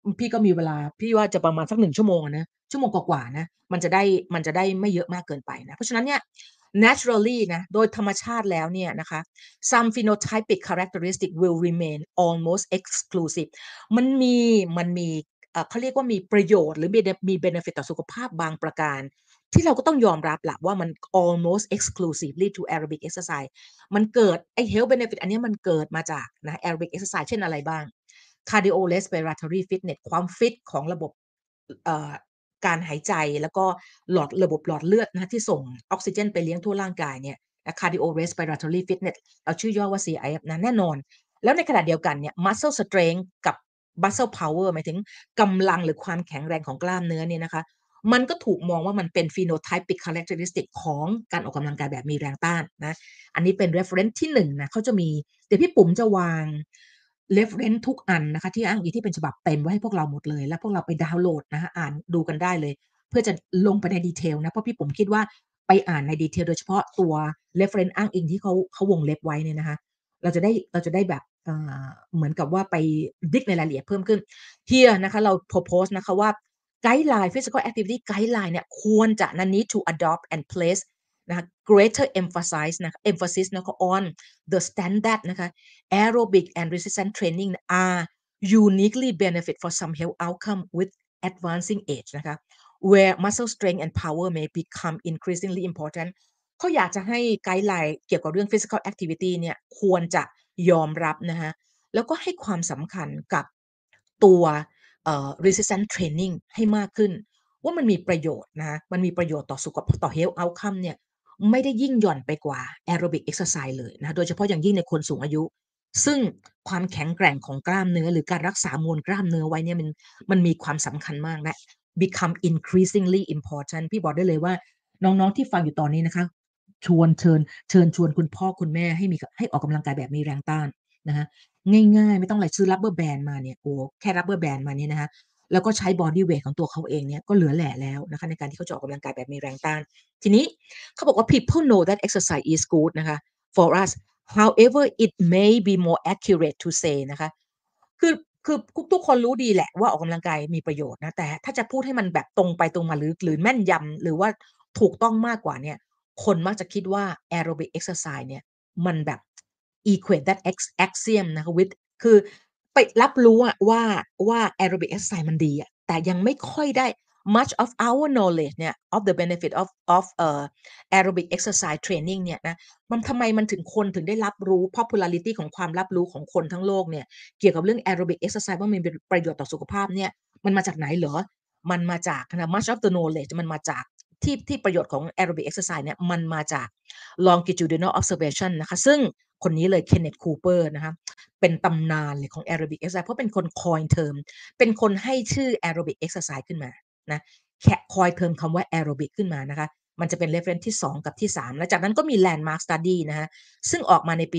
พี่ก็มีเวลาพี่ว่าจะประมาณสัก1ชั่วโมงอะนะชั่วโมงกว่าๆนะมันจะได้ไม่เยอะมากเกินไปนะเพราะฉะนั้นเนี่ย naturally นะโดยธรรมชาติแล้วเนี่ยนะคะ some phenotypic characteristic will remain almost exclusive มันมีเขาเรียกว่ามีประโยชน์หรือมี benefit ต่อสุขภาพบางประการที่เราก็ต้องยอมรับแหละว่ามัน almost exclusively to aerobic exercise มันเกิดไอ้ health benefit อันนี้มันเกิดมาจากนะ aerobic exercise เช่นอะไรบ้าง cardiorespiratory fitness ความฟิตของระบบเอ่อการหายใจแล้วก็ระบบหลอดเลือดนะที่ส่งออกซิเจนไปเลี้ยงทั่วร่างกายเนี่ย cardiorespiratory fitness เราชื่อย่อว่า CIF นะแน่นอนแล้วในขณะเดียวกันเนี่ย muscle strength กับ muscle power หมายถึงกำลังหรือความแข็งแรงของกล้ามเนื้อเนี่ยนะคะมันก็ถูกมองว่ามันเป็น phenotypic characteristic ของการออกกำลังกายแบบมีแรงต้านนะอันนี้เป็น reference ที่1นะเขาจะมีเดี๋ยวพี่ปุ๋มจะวาง reference ทุกอันนะคะที่อ้างอิงที่เป็นฉบับเต็มไว้ให้พวกเราหมดเลยแล้วพวกเราไปดาวน์โหลดนะคะอ่านดูกันได้เลยเพื่อจะลงไปในดีเทลนะเพราะพี่ปุ๋มคิดว่าไปอ่านในดีเทลโดยเฉพาะตัว reference อ้างอิงที่เขาวงเล็บไว้เนี่ยนะคะเราจะได้แบบเหมือนกับว่าไปดิกในรายละเอียดเพิ่มขึ้น here นะคะเรา propose นะคะว่า guideline physical activity guideline เนี่ยควรจะนะ need to adopt and place นะคะ greater emphasis นะคะ on the standard นะคะ aerobic and resistance training are uniquely benefit for some health outcome with advancing age นะคะ where muscle strength and power may become increasingly important เขาอยากจะให้ไกด์ไลน์เกี่ยวกับเรื่อง physical activity เนี่ยควรจะยอมรับนะคะแล้วก็ให้ความสำคัญกับตัวresistance training ให้มากขึ้นว่ามันมีประโยชน์นะมันมีประโยชน์ต่อสุขภาพต่อ health outcome เนี่ยไม่ได้ยิ่งหย่อนไปกว่า aerobic exercise เลยนะโดยเฉพาะอย่างยิ่งในคนสูงอายุซึ่งความแข็งแกร่งของกล้ามเนื้อหรือการรักษามวลกล้ามเนื้อไว้เนี่ยมันมีความสำคัญมากและ become increasingly important พี่บอกได้เลยว่าน้องๆที่ฟังอยู่ตอนนี้นะคะเชิญชวนคุณพ่อคุณแม่ให้ออกกำลังกายแบบมีแรงต้านนะคะง่ายๆไม่ต้องอะไรซื้อ rubber band มาเนี่ยโอ้แค่ rubber band มาเนี่ยนะคะแล้วก็ใช้ body weight ของตัวเขาเองเนี่ยก็เหลือแหล่แล้วนะคะในการที่เขาจะออกกำลังกายแบบมีแรงต้านทีนี้เขาบอกว่า people know that exercise is good นะคะ for us however it may be more accurate to say นะคะคือคือทุกคนรู้ดีแหละว่าออกกำลังกายมีประโยชน์นะแต่ถ้าจะพูดให้มันแบบตรงไปตรงมาหรือแม่นยำหรือว่าถูกต้องมากกว่าเนี่ยคนมักจะคิดว่า aerobic exercise เนี่ยมันแบบ equate that axiom นะคะ with คือไปรับรู้อะว่า aerobic exercise มันดีอะแต่ยังไม่ค่อยได้ much of our knowledge เนี่ย of the benefit of aerobic exercise training เนี่ยนะทำไมมันถึงคนถึงได้รับรู้ popularity ของความรับรู้ของคนทั้งโลกเนี่ยเกี่ยวกับเรื่อง aerobic exercise ว่ามันเป็นประโยชน์ต่อสุขภาพเนี่ยมันมาจากไหนเหรอมันมาจากนะ much of the knowledge มันมาจากที่ประโยชน์ของ aerobic exercise เนี่ยมันมาจาก longitudinal observation นะคะซึ่งคนนี้เลย Kenneth Cooper นะคะเป็นตำนานเลยของ aerobic exercise เพราะเป็นคน coin term เป็นคนให้ชื่อ aerobic exercise ขึ้นมานะcoin term คำว่า aerobic ขึ้นมานะคะมันจะเป็น reference ที่2กับที่3แล้วจากนั้นก็มี landmark study นะคะซึ่งออกมาในปี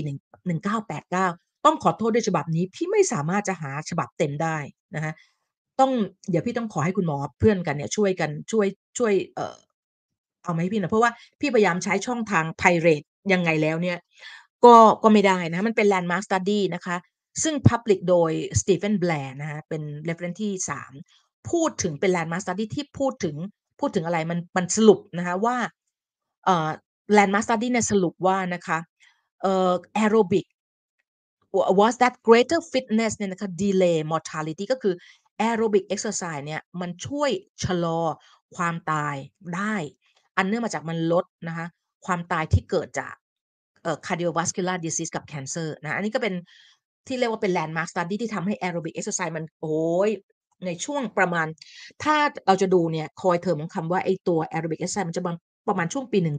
1989ต้องขอโทษด้วยฉบับนี้พี่ไม่สามารถจะหาฉบับเต็มได้นะคะเดี๋ยวพี่ต้องขอให้คุณหมอเพื่อนกันเนี่ยช่วยกันช่วยเอามาให้พี่หน่อยเพราะว่าพี่พยายามใช้ช่องทาง Pirate ยังไงแล้วเนี่ยก็ไม่ได้นะมันเป็น landmark study นะคะซึ่ง public โดย Stephen Blair นะคะเป็น reference ที่3พูดถึงเป็น landmark study ที่พูดถึงอะไรมันสรุปนะคะว่าเอ่อ landmark study เนี่ยสรุปว่านะคะaerobic was that greater fitness เนี่ยนะคะ delay mortality ก็คือ aerobic exercise เนี่ยมันช่วยชะลอความตายได้อันเนื่องมาจากมันลดนะคะความตายที่เกิดจากcardiovascular disease กับ cancer นะอันนี้ก็เป็นที่เรียกว่าเป็น landmark study ที่ทำให้ aerobic exercise มันโอ้โฮในช่วงประมาณถ้าเราจะดูเนี่ย coin term ของคำว่าไอ้ตัว aerobic exercise มันจะประมาณช่วงปี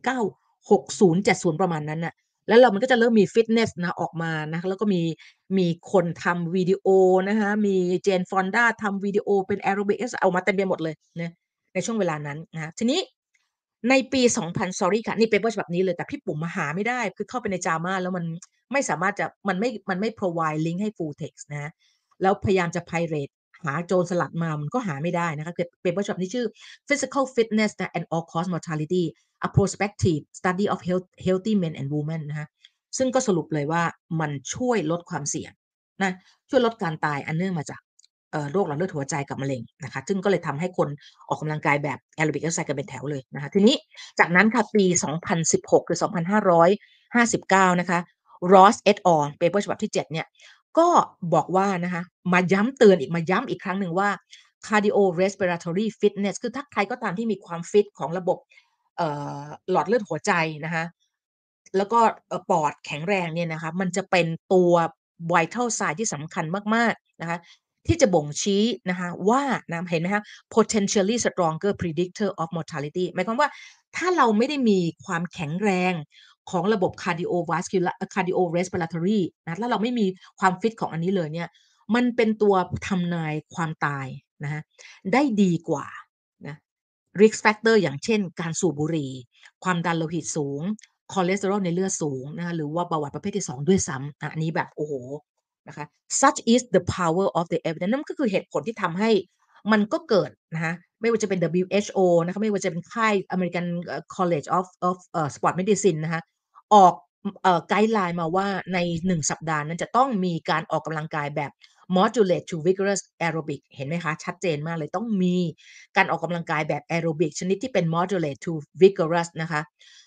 1960-70ประมาณนั้นน่ะ แล้วมันก็จะเริ่มมีฟิตเนสนะออกมานะคะแล้วก็มีคนทำวิดีโอนะคะมี Jane Fonda ทำวิดีโอเป็นแอโรบิกออกมาเต็มไปหมดเลยนะในช่วงเวลานั้นนะคะทีนี้ในปี2000 sorry ค่ะนี่เปเปอร์ฉบับนี้เลยแต่พี่ปุ๋มหาไม่ได้คือเข้าไปใน JAMA แล้วมันไม่สามารถจะมันไม่ provide ลิงก์ให้ full text นะคะแล้วพยายามจะ pirate หาโจรสลัดมามันก็หาไม่ได้นะคะคือเปเปอร์ฉบับนี้ชื่อ Physical Fitness and All Cause Mortality a prospective study of healthy men and women นะคะซึ่งก็สรุปเลยว่ามันช่วยลดความเสี่ยงนะช่วยลดการตายอันเนื่องมาจากโรคหลอดเลือดหัวใจกับมะเร็งนะคะซึ่งก็เลยทำให้คนออกกำลังกายแบบแอโรบิกเอ็กซ์ไซส์กันเป็นแถวเลยนะคะทีนี้จากนั้นค่ะปี2016หรือ2559นะคะ Ross et al. เปเปอร์ฉบับที่7เนี่ยก็บอกว่านะคะมาย้ำเตือนอีกมาย้ำอีกครั้งหนึ่งว่า cardiorespiratory fitness คือถ้าใครก็ตามที่มีความฟิตของระบบหลอดเลือดหัวใจนะคะแล้วก็ปอดแข็งแรงเนี่ยนะคะมันจะเป็นตัว vital sign ที่สำคัญมากๆนะคะที่จะบ่งชี้นะคะว่านะเห็นไหมคะ potentially stronger predictor of mortality หมายความว่าถ้าเราไม่ได้มีความแข็งแรงของระบบ cardiorespiratory นะถ้าเราไม่มีความฟิตของอันนี้เลยเนี่ยมันเป็นตัวทำนายความตายนะคะได้ดีกว่านะ risk factor อย่างเช่นการสูบบุหรี่ความดันโลหิตสูงคอเลสเตอรอลในเลือดสูงนะคะหรือว่าเบาหวานประเภทที่2ด้วยซ้ำอันนี้แบบโอ้โหนะคะ such is the power of the evidence นั่นก็คือเหตุผลที่ทำให้มันก็เกิดนะคะไม่ว่าจะเป็น WHO นะคะไม่ว่าจะเป็นค่าย American College of Sport Medicine นะคะออกไกด์ไลน์มาว่าใน1สัปดาห์นั้นจะต้องมีการออกกำลังกายแบบ moderate to vigorous aerobic เห็นไหมคะชัดเจนมากเลยต้องมีการออกกำลังกายแบบ aerobic ชนิดที่เป็น moderate to vigorous นะคะ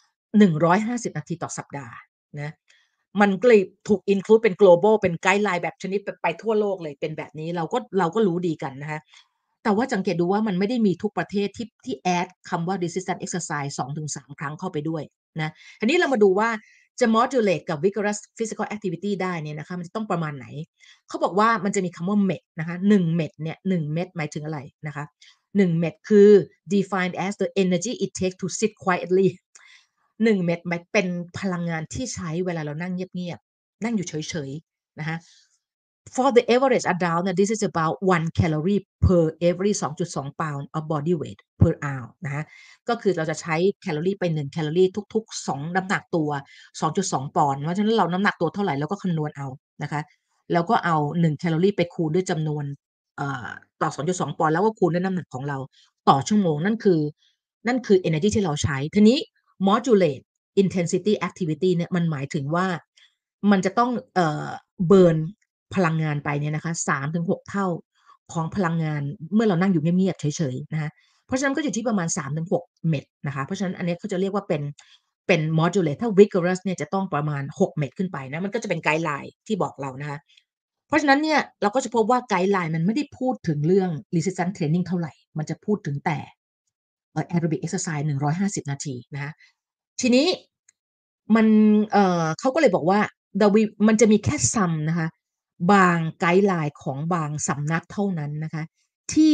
150นาทีต่อสัปดาห์นะมันก็เลยถูก include เป็น global เป็นไกด์ไลน์แบบชนิดไปทั่วโลกเลยเป็นแบบนี้เราก็รู้ดีกันนะคะแต่ว่าสังเกตดูว่ามันไม่ได้มีทุกประเทศที่แอดคำว่า resistance exercise 2-3 ครั้งเข้าไปด้วยนะทีนี้เรามาดูว่าจะ modulate กับ vigorous physical activity ได้เนี่ยนะคะมันจะต้องประมาณไหนเขาบอกว่ามันจะมีคำว่า MET นะคะ1เม็ดเนี่ย1เม็ดหมายถึงอะไรนะคะ1เม็ดคือ defined as the energy it takes to sit quietly 1เม็ดหมายเป็นพลังงานที่ใช้เวลาเรานั่งเงียบๆนั่งอยู่เฉยๆนะคะ For the average adult เนี่ย this is about 1 calorie per every 2.2 pound of body weight per hour นะคะก็คือเราจะใช้แคลอรีไป1แคลอรีทุกๆ2น้ำหนักตัว2.2ปอนด์เพราะฉะนั้นเราน้ำหนักตัวเท่าไรเราก็คำนวณเอานะคะแล้วก็เอา1แคลอรีไปคูณด้วยจำนวนเอ่อต่อ2.2ปอนด์แล้วก็คูณด้วยน้ำหนักของเราต่อชั่วโมงนั่นคือเอเนอร์จีที่เราใช้ทีนี้ modulate intensity activity เนี่ยมันหมายถึงว่ามันจะต้องเบิร์นพลังงานไปเนี่ยนะคะ3-6เท่าของพลังงานเมื่อเรานั่งอยู่เงียบๆเฉยๆนะคะเพราะฉะนั้นก็อยู่ที่ประมาณ3-6เม็ดนะคะเพราะฉะนั้นอันนี้เขาจะเรียกว่าเป็น moderate ถ้า vigorous เนี่ยจะต้องประมาณ6เม็ดขึ้นไปนะมันก็จะเป็นไกด์ไลน์ที่บอกเรานะคะเพราะฉะนั้นเนี่ยเราก็จะพบว่าไกด์ไลน์มันไม่ได้พูดถึงเรื่อง resistance training เท่าไรมันจะพูดถึงแต่aerobic exercise 150นาทีนะคะทีนี้มันเขาก็เลยบอกว่ามันจะมีแค่ some นะคะบางไกด์ไลน์ของบางสำนักเท่านั้นนะคะที่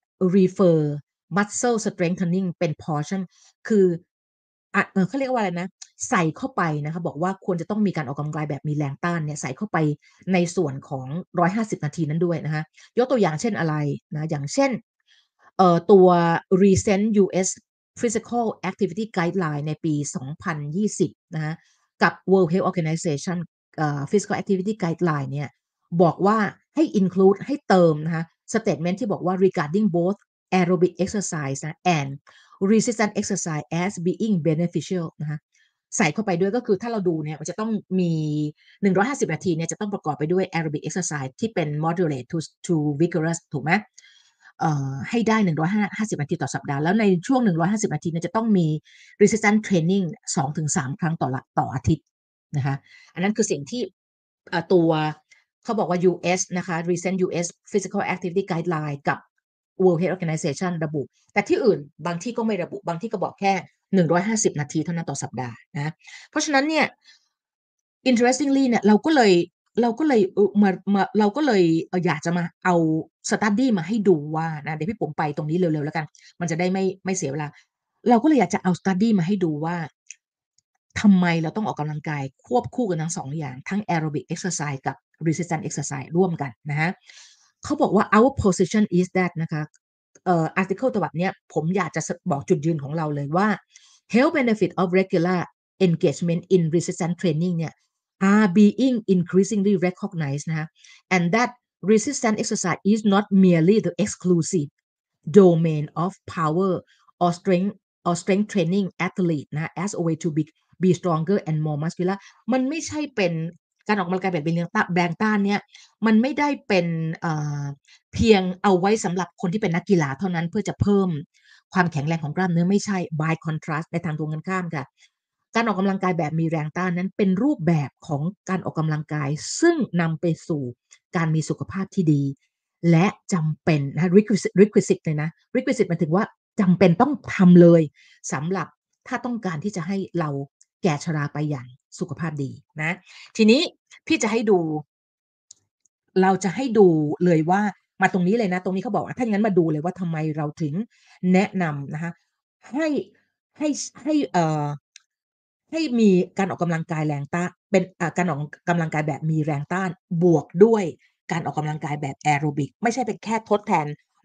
refer muscle strengthening เป็น portion คือเขาเรียกว่าอะไรนะใส่เข้าไปนะคะบอกว่าควรจะต้องมีการออกกำลังกายแบบมีแรงต้านเนี่ยใส่เข้าไปในส่วนของ150นาทีนั้นด้วยนะคะยกตัวอย่างเช่นอะไรนะอย่างเช่นตัว recent US Physical Activity Guideline ในปี2020นะคะกับ World Health Organization Physical Activity Guideline เนี่ยบอกว่าให้ include ให้เติมนะคะ statement ที่บอกว่า regarding both aerobic exercise นะ and resistance exercise as being beneficial นะคะใส่เข้าไปด้วยก็คือถ้าเราดูเนี่ยมันจะต้องมี150นาทีเนี่ยจะต้องประกอบไปด้วย aerobic exercise ที่เป็น moderate to vigorous ถูกไหมให้ได้150นาทีต่อสัปดาห์แล้วในช่วง150นาทีเนี่ยจะต้องมี resistance training 2-3 ครั้งต่ออาทิตย์นะคะอันนั้นคือสิ่งที่ตัวเขาบอกว่า US นะคะ recent US Physical Activity Guideline กับ World Health Organization ระบุแต่ที่อื่นบางที่ก็ไม่ระบุบางที่ก็บอกแค่150นาทีเท่านั้นต่อสัปดาห์นะเพราะฉะนั้นเนี่ย interestingly เนี่ยเราก็เลยเราก็เลยอยากจะมาเอา study มาให้ดูว่านะเดี๋ยวพี่ปุ๋มไปตรงนี้เร็วๆแล้วกันมันจะได้ไม่เสียเวลาเราก็เลยอยากจะเอา study มาให้ดูว่าทำไมเราต้องออกกำลังกายควบคู่กันทั้ง2อย่างทั้ง aerobic exercise กับ resistance exercise ร่วมกันนะคะเขาบอกว่า our position is that นะคะarticle ฉบับเนี้ยผมอยากจะบอกจุดยืนของเราเลยว่า health benefit of regular engagement in resistance training เนี่ย are being increasingly recognized นะคะ and that resistance exercise is not merely the exclusive domain of power or strength training athlete นะ as a way to be stronger and more muscular มันไม่ใช่เป็นการออกกำลังกายแบบแรงต้านเนี่ยมันไม่ได้เป็นเอ่อเพียงเอาไว้สำหรับคนที่เป็นนักกีฬาเท่านั้นเพื่อจะเพิ่มความแข็งแรงของกล้ามเนื้อไม่ใช่ by contrast ในทางตรงกันข้ามค่ะการออกกำลังกายแบบมีแรงต้านนั้นเป็นรูปแบบของการออกกำลังกายซึ่งนำไปสู่การมีสุขภาพที่ดีและจำเป็นนะ requisite เลยนะ requisite หมายถึงว่าจำเป็นต้องทำเลยสำหรับถ้าต้องการที่จะให้เราแก่ชราไปอย่างสุขภาพดีนะทีนี้พี่จะให้ดูเราจะให้ดูเลยว่ามาตรงนี้เลยนะตรงนี้เขาบอกว่าถ้าอย่างนั้นมาดูเลยว่าทำไมเราถึงแนะนำนะคะให้ให้ให้ให้มีการออกกำลังกายแรงต้านเป็นการออกกำลังกายแบบมีแรงต้านบวกด้วยการออกกำลังกายแบบแอโรบิกไม่ใช่เป็นแค่ทดแทน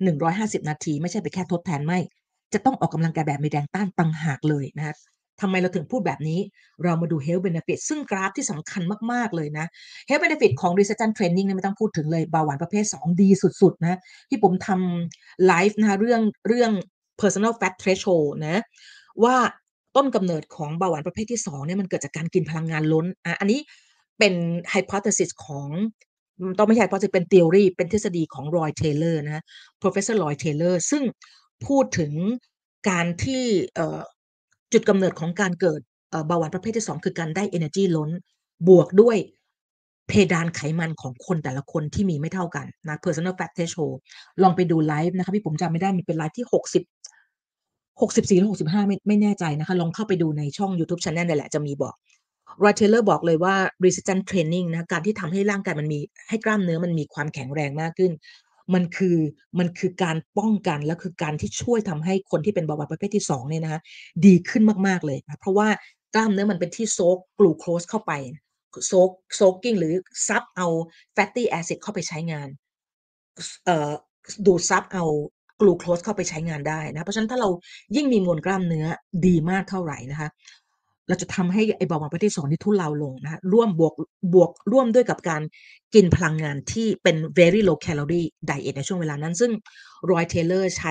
150นาทีไม่ใช่เป็นแค่ทดแทนไม่จะต้องออกกำลังกายแบบมีแรงต้านต่างหากเลยนะคะทำไมเราถึงพูดแบบนี้เรามาดู health benefit ซึ่งกราฟที่สำคัญมากๆเลยนะ Health benefit ของ resistance training เนี่ยไม่ต้องพูดถึงเลยเบาหวานประเภท2ดีสุดๆนะที่ผมทำไลฟ์นะคะเรื่อง personal fat threshold นะว่าต้นกำเนิดของเบาหวานประเภทที่2เนี่ยมันเกิดจากการกินพลังงานล้นอันนี้เป็น hypothesis ของต้องไม่ใช่ hypothesis เป็น theory เป็นทฤษฎีของ Roy Taylor นะ Professor Roy Taylor ซึ่งพูดถึงการที่จุดกำเนิดของการเกิดเบาหวานประเภทที่2คือการได้ energy ล้นบวกด้วยเพดานไขมันของคนแต่ละคนที่มีไม่เท่ากันนะ personal fat threshold ลองไปดูไลฟ์นะคะพี่ผมจำไม่ได้มันเป็นไลฟ์ที่64หรือ65ไม่แน่ใจนะคะลองเข้าไปดูในช่อง YouTube Channel นี่แหละจะมีบอก Roy Taylor บอกเลยว่า resistance training นะการที่ทำให้ร่างกายมันมีให้กล้ามเนื้อมันมีความแข็งแรงมากขึ้นมันคือมันคือการป้องกันและคือการที่ช่วยทำให้คนที่เป็นเบาหวานประเภทที่2เนี่ยนะคะดีขึ้นมากๆเลยนะเพราะว่ากล้ามเนื้อมันเป็นที่โซกกลูโคสเข้าไปโซกกิ้งหรือซับเอา fatty acid เข้าไปใช้งานเอ่อดูดซับเอากลูโคสเข้าไปใช้งานได้นะเพราะฉะนั้นถ้าเรายิ่งมีมวลกล้ามเนื้อดีมากเท่าไหร่นะคะเราจะทำให้ไอ้เบาหวานประเภทที่2นี่ทุเลาลงนะคะร่วมร่วมด้วยกับการกินพลังงานที่เป็น very low calorie diet ในช่วงเวลานั้นซึ่ง Roy Taylor ใช้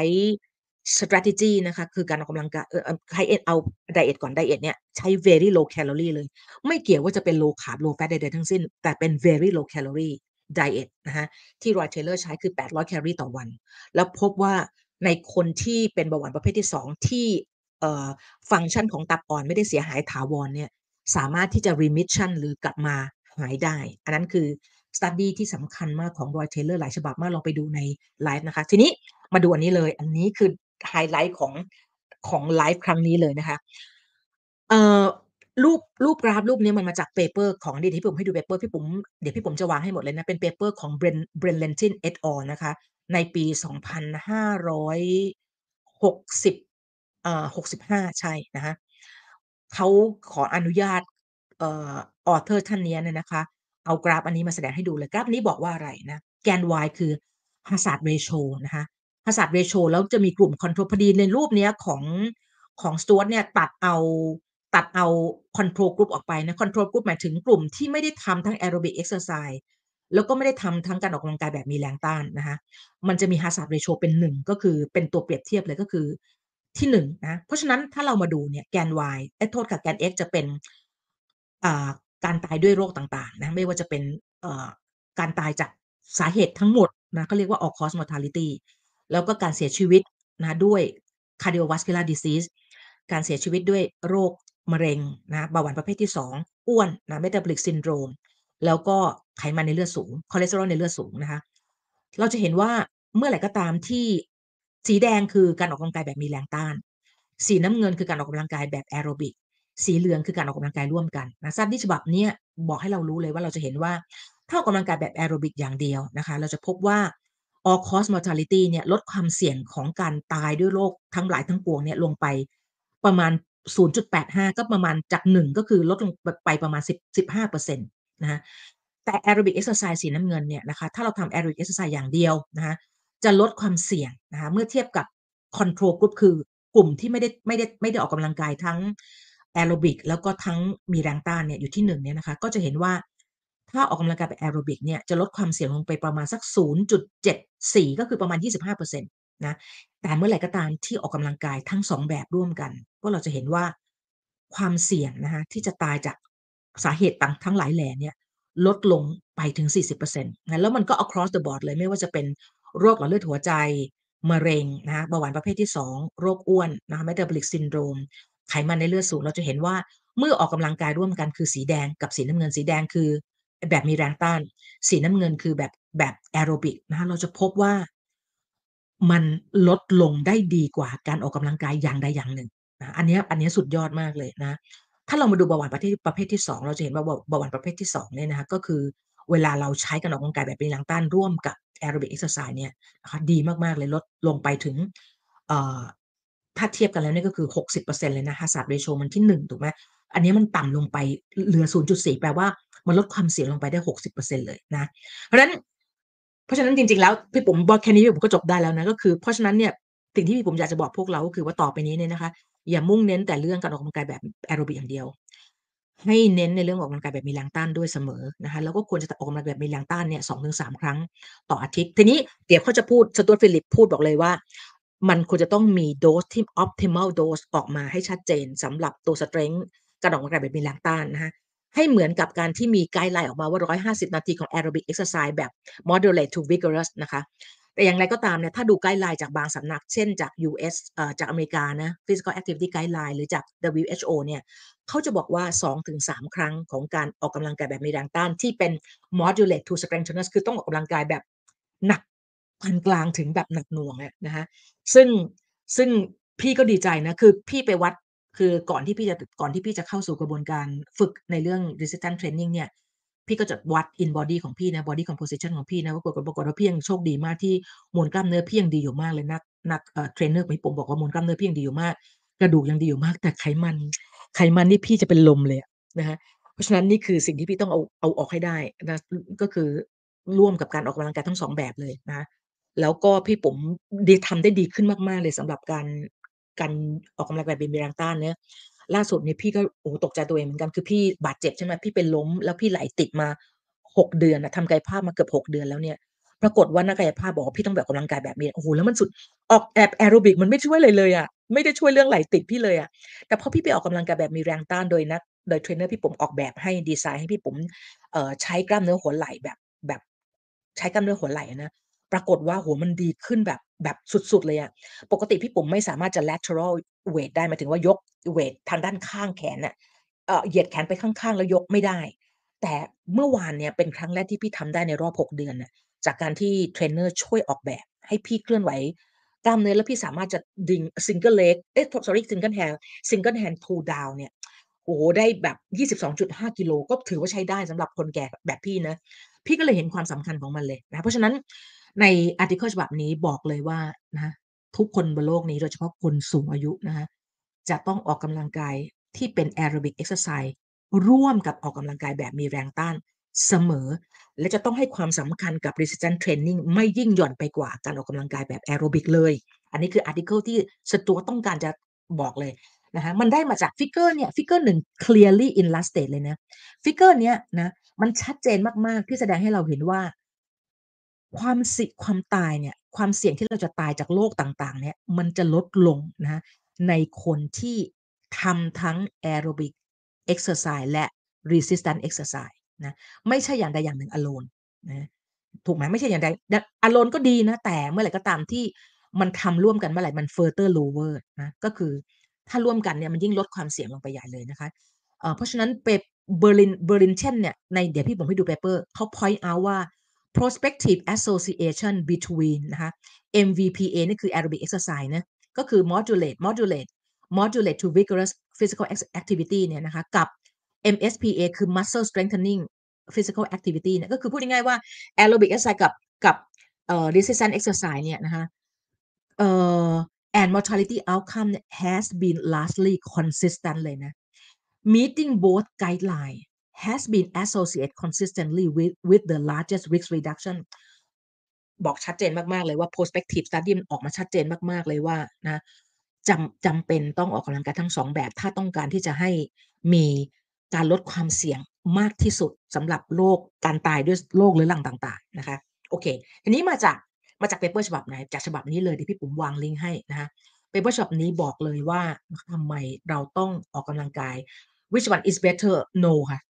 strategy นะคะคือการออกกำลังกายให้เอาไดเอทก่อนไดเอทเนี่ยใช้ very low calorie เลยไม่เกี่ยวว่าจะเป็น low carb low fat ใดๆทั้งสิ้นแต่เป็น very low calorie diet นะคะที่ Roy Taylor ใช้คือ800แคลอรี่ต่อวันแล้วพบว่าในคนที่เป็นเบาหวานประเภทที่2ที่ฟังก์ชันของตับอ่อนไม่ได้เสียหายถาวรเนี่ยสามารถที่จะ remission หรือกลับมาหายได้อันนั้นคือ study ที่สำคัญมากของ Roy Taylor หลายฉบับมากลองไปดูในไลฟ์นะคะทีนี้มาดูอันนี้เลยอันนี้คือไฮไลท์ของไลฟ์ครั้งนี้เลยนะคะเอ่อรูปกราฟรูปนี้มันมาจากเปเปอร์ของเดี๋ยวที่ผมให้ดูเปเปอร์พี่ผมเดี๋ยวพี่ผมจะวางให้หมดเลยนะเป็นเปเปอร์ของ Brenlentin et al นะคะในปี2560 65ใช่นะคะเขาขออนุญาตauthor ท่านเนี้ยเนี่ยนะคะเอากราฟอันนี้มาแสดงให้ดูเลยกราฟนี้บอกว่าอะไรนะแกน Y คือ hazard ratio นะคะ hazard ratio แล้วจะมีกลุ่ม control พอดีในรูปเนี้ยของ Stewart เนี่ยตัดเอา control group ออกไปนะ control group หมายถึงกลุ่มที่ไม่ได้ทำทั้ง aerobic exercise แล้วก็ไม่ได้ทำทั้งการออกกำลังกายแบบมีแรงต้านนะคะมันจะมี hazard ratio เป็น1ก็คือเป็นตัวเปรียบเทียบเลยก็คือที่1นะเพราะฉะนั้นถ้าเรามาดูเนี่ยแกน Y โทษค่ะแกน X จะเป็นอ่าการตายด้วยโรคต่างๆนะไม่ว่าจะเป็นการตายจากสาเหตุทั้งหมดนะเขาเรียกว่า all cause mortality แล้วก็การเสียชีวิตนะด้วย cardiovascular disease การเสียชีวิตด้วยโรคมะเร็งนะเบาหวานประเภทที่2อ้วนนะ metabolic syndrome แล้วก็ไขมันในเลือดสูงคอเลสเตอรอลในเลือดสูงนะคะเราจะเห็นว่าเมื่อไหร่ก็ตามที่สีแดงคือการออกกำลังกายแบบมีแรงต้านสีน้ำเงินคือการออกกำลังกายแบบแอโรบิกสีเหลืองคือการออกกำลังกายร่วมกันนะซัดดี้ฉบับนี้บอกให้เรารู้เลยว่าเราจะเห็นว่าถ้าออกกำลังกายแบบแอโรบิกอย่างเดียวนะคะเราจะพบว่า all cause mortality เนี่ยลดความเสี่ยงของการตายด้วยโรคทั้งหลายทั้งปวงเนี่ยลงไปประมาณ0.85ก็ประมาณจาก1ก็คือลดลงไปประมาณ15%นะคะแต่ aerobic exercise สีน้ำเงินเนี่ยนะคะถ้าเราทำ aerobic exercise อย่างเดียวนะคะจะลดความเสี่ยงนะคะเมื่อเทียบกับ control group คือกลุ่มที่ไม่ได้ออกกำลังกายทั้งแอโรบิกแล้วก็ทั้งมีแรงต้านเนี่ยอยู่ที่1เนี่ยนะคะก็จะเห็นว่าถ้าออกกำลังกายแบบแอโรบิกเนี่ยจะลดความเสี่ยงลงไปประมาณสัก0.74ก็คือประมาณ25%นะแต่เมื่อไหร่ก็ตามที่ออกกำลังกายทั้ง2แบบร่วมกันก็เราจะเห็นว่าความเสี่ยงนะคะที่จะตายจากสาเหตุต่างทั้งหลายแหล่เนี่ยลดลงไปถึง 40%นะแล้วมันก็ across the board เลยไม่ว่าจะเป็นโรคหลอดเลือดหัวใจมะเร็งนะคะเบาหวานประเภทที่2โรคอ้วนนะคะ metabolic syndrome ไขมันในเลือดสูงเราจะเห็นว่าเมื่อออกกำลังกายร่วมกันคือสีแดงกับสีน้ำเงินสีแดงคือแบบมีแรงต้านสีน้ำเงินคือแบบแอโรบิกนะคะเราจะพบว่ามันลดลงได้ดีกว่าการออกกำลังกายอย่างใดอย่างหนึ่งนะอันนี้สุดยอดมากเลยนะถ้าเรามาดูเบาหวานประเภทที่2เราจะเห็นว่าเบาหวานประเภทที่2เนี่ยนะคะก็คือเวลาเราใช้การออกกำลังกายแบบมีแรงต้านร่วมกับแอโรบิกเอ็กซ์ไซส์เนี่ยนะคะดีมากๆเลยลดลงไปถึงเอ่อถ้าเทียบกันแล้วเนี่ยก็คือ60%เปอร์เซ็นต์เลยนะ hazard ratio มันที่1ถูกไหมอันนี้มันต่ำลงไปเหลือ0.4แปลว่ามันลดความเสี่ยงลงไปได้60%เลยนะเพราะฉะนั้นจริงๆแล้วพี่ปุ๋มบอกแค่นี้พี่ปุ๋มก็จบได้แล้วนะก็คือเพราะฉะนั้นเนี่ยสิ่งที่พี่ปุ๋มอยากจะบอกพวกเราก็คือว่าต่อไปนี้เนี่ยนะคะอย่ามุ่งเน้นแต่เรื่องการออกกำลังกายแบบแอโรบิกอย่างเดียวให้เน้นในเรื่องออกกำลังกายแบบมีแรงต้านด้วยเสมอนะคะแล้วก็ควรจะออกกำลังกายแบบมีแรงต้านเนี่ย2-3ครั้งต่ออาทิตย์ทีนี้เดี๋ยวเขาจะพูดสตูดฟิลิปพูดบอกเลยว่ามันควรจะต้องมีโดสที่ optimal dose ออกมาให้ชัดเจนสำหรับตัว strength การออกกำลังกายแบบมีแรงต้านนะคะ ให้เหมือนกับการที่มีไกด์ไลน์ออกมาว่า150นาทีของ Aerobic Exercise แบบ Moderate to Vigorous นะคะแต่อย่างไรก็ตามเนี่ยถ้าดูไกด์ไลน์จากบางสำนักเช่นจาก US จากอเมริกานะ Physical Activity Guideline หรือจาก WHO เนี่ยเขาจะบอกว่า2-3ครั้งของการออกกำลังกายแบบมีแรงต้านที่เป็น Moderate to Strengtheners คือต้องออกกำลังกายแบบหนักปานกลางถึงแบบหนักหน่วงอะนะคะซึ่งซึ่งพี่ก็ดีใจนะคือพี่ไปวัด คือก่อนที่พี่จะเข้าสู่กระบวนการฝึกในเรื่อง resistance training เนี่ยพี่ก็จะวัด in body ของพี่นะ body composition ของพี่นะปรากฏว่าพี่ยังโชคดีมากที่มวลกล้ามเนื้อพี่ยังดีอยู่มากเลยนักเทรนเนอร์ของพี่ผมบอกว่ามวลกล้ามเนื้อพี่ยังดีอยู่มากกระดูกยังดีอยู่มากแต่ไขมันนี่พี่จะเป็นลมเลยอะนะคะเพราะฉะนั้นนี่คือสิ่งที่พี่ต้องเอาออกให้ได้นะก็คือร่วมกับการออกกำลังกายทั้ง2แบบเลยนะแล้วก็พี่ปุ๋มทำได้ดีขึ้นมากๆเลยสำหรับการออกกำลังกายแบบมีแรงต้านเนี่ย ล่าสุดเนี่ยพี่ก็โอ้โฮตกใจตัวเองเหมือนกันคือพี่บาดเจ็บใช่ไหมพี่เป็นล้มแล้วพี่ไหล่ติดมา6เดือนน่ะทำกายภาพมาเกือบ6เดือนแล้วเนี่ยปรากฏว่านักกายภาพบอกว่าพี่ต้องไปออกกำลังกายแบบนี้โอ้โฮแล้วมันสุดออกแอโรบิกมันไม่ช่วยอะไรเลยอะไม่ได้ช่วยเรื่องไหล่ติดพี่เลยอะแต่พอพี่ไปออกกำลังกายแบบมีแรงต้านโดยเทรนเนอร์พี่ปุ๋มออกแบบให้ดีไซน์ให้พี่ปุ๋มใช้กล้ามเนื้อหัวไหล่แบบใช้กล้ามเนื้อหัวไหล่อะนะปรากฏว่าโอ้โฮมันดีขึ้นแบบสุดๆเลยอะ ปกติพี่ปุ๋มไม่สามารถจะ lateral weight ได้หมายถึงว่ายกเวตทางด้านข้างแขนน่ะเหยียดแขนไปข้างๆแล้วยกไม่ได้แต่เมื่อวานเนี่ยเป็นครั้งแรกที่พี่ทำได้ในรอบ6เดือนน่ะจากการที่เทรนเนอร์ช่วยออกแบบให้พี่เคลื่อนไหวกล้ามเนื้อแล้วพี่สามารถจะดึง single leg sorry single hand pull down เนี่ยโอ้โฮได้แบบ22.5กิโลก็ถือว่าใช้ได้สำหรับคนแก่แบบพี่นะพี่ก็เลยเห็นความสำคัญของมันเลยนะเพราะฉะนั้นในอาร์ติเคิลฉบับนี้บอกเลยว่านะคะ ทุกคนบนโลกนี้โดยเฉพาะคนสูงอายุนะคะจะต้องออกกำลังกายที่เป็นแอโรบิกเอ็กซ์ไซส์ร่วมกับออกกำลังกายแบบมีแรงต้านเสมอและจะต้องให้ความสำคัญกับ resistance training ไม่ยิ่งหย่อนไปกว่าการออกกำลังกายแบบแอโรบิกเลยอันนี้คืออาร์ติเคิลที่สจ๊วตต้องการจะบอกเลยนะคะมันได้มาจากฟิกเกอร์เนี่ยฟิกเกอร์หนึ่ง clearly illustrate เลยนะฟิกเกอร์เนี้ยนะมันชัดเจนมากๆที่แสดงให้เราเห็นว่า ความตายเนี่ยความเสี่ยงที่เราจะตายจากโรคต่างๆเนี่ยมันจะลดลงนะคะในคนที่ทำทั้งแอโรบิกเอ็กซ์ไซส์และ resistance exercise นะไม่ใช่อย่างใดอย่างหนึ่ง alone นะถูกไหมไม่ใช่อย่างใดalone ก็ดีนะแต่เมื่อไหร่ก็ตามที่มันทำร่วมกันเมื่อไหร่มัน further lower นะก็คือถ้าร่วมกันเนี่ยมันยิ่งลดความเสี่ยงลงไปใหญ่เลยนะคะเพราะฉะนั้นBerlin เนี่ยในเดี๋ยวพี่ผมให้ดู paper เขา point out ว่า prospective association between นะคะ MVPA นี่คือ aerobic exercise นะก็คือ moderate to vigorous physical activity เนี่ยนะคะกับ MSPA คือ muscle strengthening physical activity เนี่ยก็คือพูดง่ายๆว่า aerobic exercise กับresistance exercise เนี่ยนะคะเอ่อ and mortality outcome has been largely consistent เลยนะ meeting both guideline has been associated consistently with the largest risk reduction บอกชัดเจนมากๆเลยว่า prospective study มันออกมาชัดเจนมากๆเลยว่านะจำเป็นต้องออกกำลังกายทั้ง2แบบถ้าต้องการที่จะให้มีการลดความเสี่ยงมากที่สุดสำหรับโรคการตายด้วยโรคเรื้อรังต่างๆนะคะโอเคทีนี้มาจากเปเปอร์ฉบับไหนจากฉบับนี้เลยเดี๋ยวพี่ปุ๋มวางลิงก์ให้นะคะเปเปอร์ฉบับนี้บอกเลยว่าทำไมเราต้องออกกำลังกาย which one is better no ค่ะ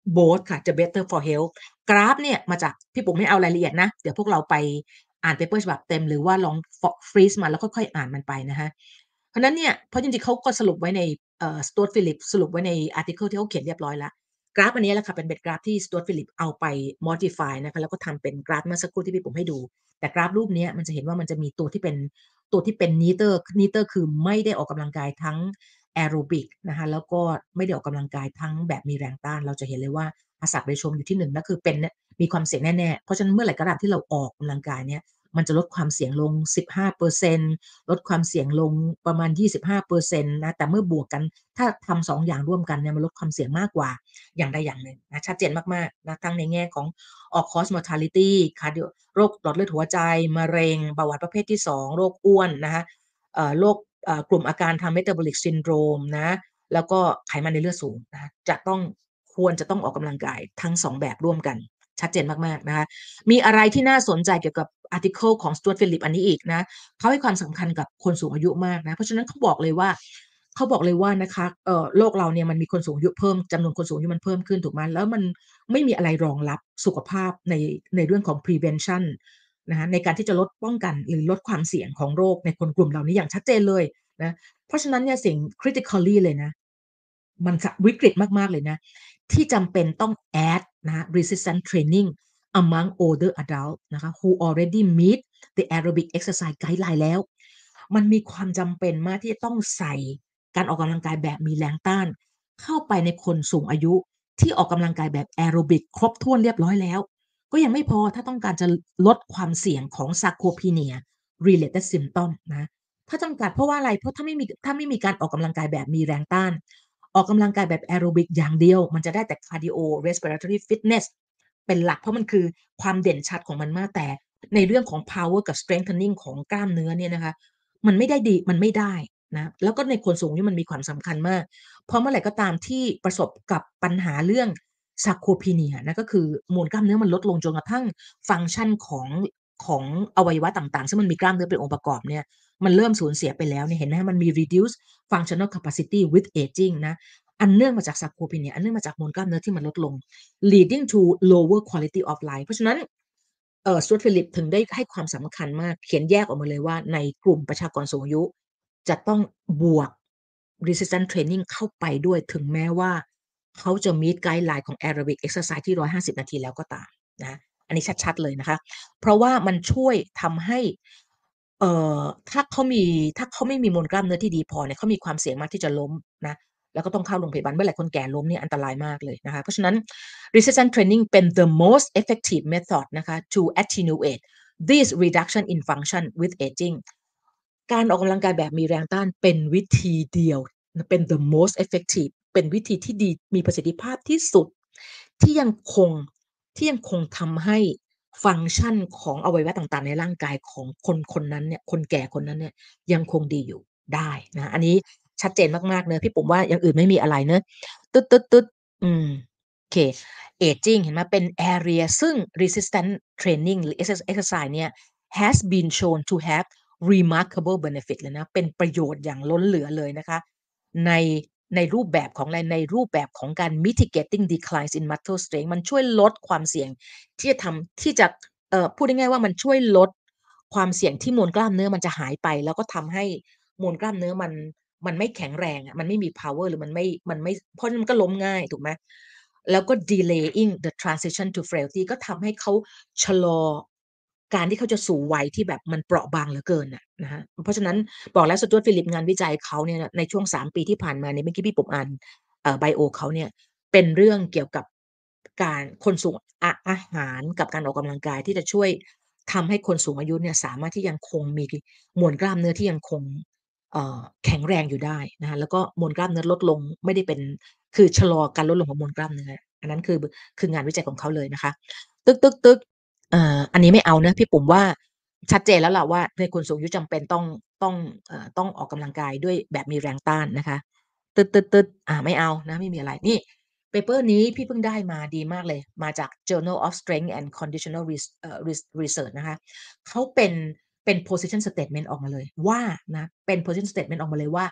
both ค่ะจะ better for health กราฟเนี่ยมาจากพี่ปุ๋มไม่เอารายละเอียดนะเดี๋ยวพวกเราไปอ่านเปเปอร์ฉบับเต็มหรือว่าลองฟรีซมาแล้วค่อยๆอ่านมันไปนะคะเพราะนั้นเนี่ยเพราะจริงๆเขาก็สรุปไว้ในStuart Phillips สรุปไว้ในอาร์ติเคิลที่เขาเขียนเรียบร้อยแล้วกราฟอันนี้แหละค่ะเป็นกราฟที่ Stuart Phillips เอาไป modify นะคะแล้วก็ทำเป็นกราฟเมื่อสักครู่ที่พี่ปุ๋มให้ดูแต่กราฟรูปนี้มันจะเห็นว่ามันจะมีตัวที่เป็น neither คือไม่ได้ออกกำลังกายทั้งแอโรบิกนะคะแล้วก็ไม่ได้ออกกำลังกายทั้งแบบมีแรงต้านเราจะเห็นเลยว่าHazard ratio อยู่ที่1นั่นคือเป็นมีความเสี่ยงแน่ๆเพราะฉะนั้นเมื่อไหร่ก็ตามที่เราออกกำลังกายเนี่ยมันจะลดความเสี่ยงลง15%ลดความเสี่ยงลงประมาณ25%นะแต่เมื่อบวกกันถ้าทำ2อย่างร่วมกันเนี่ยมันลดความเสี่ยงมากกว่าอย่างใดอย่างหนึ่งนะชัดเจนมากๆนะทั้งในแง่ของ all cause mortality cardio โรคหลอดเลือดหัวใจมะเร็งเบาหวานประเภทที่2โรคอ้วนนะคะโรคกลุ่มอาการทาง metabolic syndrome นะแล้วก็ไขมันในเลือดสูงนะควรจะต้องออกกำลังกายทั้ง2แบบร่วมกันชัดเจนมากๆนะคะมีอะไรที่น่าสนใจเกี่ยวกับอาร์ติเคิลของ Stuart Phillips อันนี้อีกนะเขาให้ความสำคัญกับคนสูงอายุมากนะเพราะฉะนั้นเขาบอกเลยว่านะคะโลกเราเนี่ยมันมีคนสูงอายุเพิ่มจำนวนคนสูงอายุมันเพิ่มขึ้นถูกไหมแล้วมันไม่มีอะไรรองรับสุขภาพในเรื่องของ prevention นะคะในการที่จะลดป้องกันหรือลดความเสี่ยงของโรคในคนกลุ่มเหล่านี้อย่างชัดเจนเลยนะเพราะฉะนั้นเนี่ยสิ่ง critically เลยนะมันวิกฤตมากๆเลยนะที่จำเป็นต้อง add นะ resistance training among older adults นะคะ who already meet the aerobic exercise guideline แล้วมันมีความจำเป็นมากที่จะต้องใส่การออกกำลังกายแบบมีแรงต้านเข้าไปในคนสูงอายุที่ออกกำลังกายแบบแอโรบิกครบถ้วนเรียบร้อยแล้วก็ยังไม่พอถ้าต้องการจะลดความเสี่ยงของ sarcopenia related symptom นะถ้าจำกัดเพราะว่าอะไรเพราะถ้าไม่มีการออกกำลังกายแบบมีแรงต้านออกกำลังกายแบบแอโรบิกอย่างเดียวมันจะได้แต่ cardio respiratory fitness เป็นหลักเพราะมันคือความเด่นชัดของมันมากแต่ในเรื่องของ power กับ strengthening ของกล้ามเนื้อเนี่ยนะคะมันไม่ได้ดีมันไม่ได้นะแล้วก็ในคนสูงนี่มันมีความสำคัญมากเพราะเมื่อไหร่ก็ตามที่ประสบกับปัญหาเรื่อง sarcopenia นะก็คือมวลกล้ามเนื้อมันลดลงจนกระทั่งฟังก์ชันของอวัยวะต่างๆซึ่งมันมีกล้ามเนื้อเป็นองค์ประกอบเนี่ยมันเริ่มสูญเสียไปแล้วเนี่ยเห็นไหมมันมี reduce functional capacity with aging นะอันเนื่องมาจาก sarcopenia อันเนื่องมาจากมวลกล้ามเนื้อที่มันลดลง leading to lower quality of life เพราะฉะนั้นStuart Phillips ถึงได้ให้ความสำคัญมากเขียนแยกออกมาเลยว่าในกลุ่มประชากรสูงอายุจะต้องบวก resistance training เข้าไปด้วยถึงแม้ว่าเขาจะ meet guideline ของ aerobic exercise ที่150นาทีแล้วก็ตามนะอันนี้ชัดๆเลยนะคะเพราะว่ามันช่วยทำให้เอ่อถ้าเขาไม่มีมวลกล้ามเนื้อที่ดีพอเนี่ยเขามีความเสี่ยงมากที่จะล้มนะแล้วก็ต้องเข้าโรงพยาบาลเมื่อไหร่คนแก่ล้มเนี่ยอันตรายมากเลยนะคะเพราะฉะนั้น resistance training เป็น the most effective method นะคะ to attenuate this reduction in function with aging การออกกำลังกายแบบมีแรงต้านเป็นวิธีเดียวเป็น the most effective เป็นวิธีที่ดีมีประสิทธิภาพที่สุดที่ยังคงที่ยังคงทำให้ฟังก์ชันของอวัยวะต่างๆในร่างกายของคนคนนั้นเนี่ยคนแก่คนนั้นเนี่ยยังคงดีอยู่ได้นะอันนี้ชัดเจนมากๆเนอะพี่ปุ๋มว่าอย่างอื่นไม่มีอะไรเนอะตึ๊ดๆๆโอเค aging เห็นไหมเป็น area ซึ่ง resistance training หรือ exercise เนี่ย has been shown to have remarkable benefit เลยนะเป็นประโยชน์อย่างล้นเหลือเลยนะคะในในรูปแบบของอะไรในรูปแบบของการ mitigating declines in muscle strength มันช่วยลดความเสี่ยงที่จะพูดง่ายๆว่ามันช่วยลดความเสี่ยงที่มวลกล้ามเนื้อมันจะหายไปแล้วก็ทำให้มวลกล้ามเนื้อมันไม่แข็งแรงอะมันไม่มี power หรือมันไม่เพราะมันก็ล้มง่ายถูกไหมแล้วก็ delaying the transition to frailty ก็ทำให้เขาชะลอการที่เขาจะสู่วัยที่แบบมันเปราะบางเหลือเกินน่ะนะคะเพราะฉะนั้นบอกแล้ว Stuart Phillips งานวิจัยเขาเนี่ยในช่วง3ปีที่ผ่านมาเนี่ยเมื่อกี้พี่ผมอ่านไบโอเขาเนี่ยเป็นเรื่องเกี่ยวกับการคนสูงอาหารกับการออกกำลังกายที่จะช่วยทำให้คนสูงอายุเนี่ยสามารถที่ยังคงมีมวลกล้ามเนื้อที่ยังคงแข็งแรงอยู่ได้นะคะแล้วก็มวลกล้ามเนื้อลดลงไม่ได้เป็นคือชะลอการลดลงของมวลกล้ามเนื้ออันนั้นคืองานวิจัยของเขาเลยนะคะตึกๆๆ อันนี้ไม่เอานะพี่ปุ๋มว่าชัดเจนแล้วล่ะว่าในคนสูงอายุจำเป็นต้องออกกำลังกายด้วยแบบมีแรงต้านนะคะตึดๆๆไม่เอานะไม่มีอะไรนี่เปเปอร์นี้พี่เพิ่งได้มาดีมากเลยมาจาก Journal of Strength and Conditional Research นะคะเขาเป็น position statement ออกมาเลยว่านะเป็น position statement ออกมาเลยว่า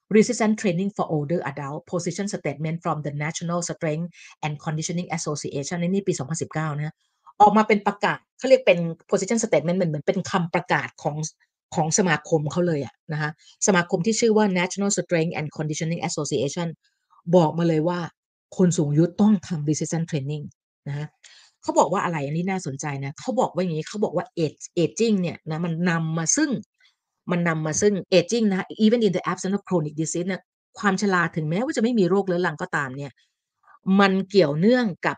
resistance training for older adult position statement from the National Strength and Conditioning Association นี่ปี2019นะออกมาเป็นประกาศเขาเรียกเป็น position statement เหมือนเป็นคำประกาศของสมาคมเขาเลยอะนะคะสมาคมที่ชื่อว่า National Strength and Conditioning Association บอกมาเลยว่าคนสูงอายุต้องทำ resistance training นะคะเขาบอกว่าอะไรอันนี้น่าสนใจนะเขาบอกว่าอย่างนี้เขาบอกว่า aging เนี่ยนะมันนำมาซึ่ง aging นะ even in the absence of chronic disease เนี่ยความชราถึงแม้ว่าจะไม่มีโรคเรื้อรังก็ตามเนี่ยมันเกี่ยวเนื่องกับ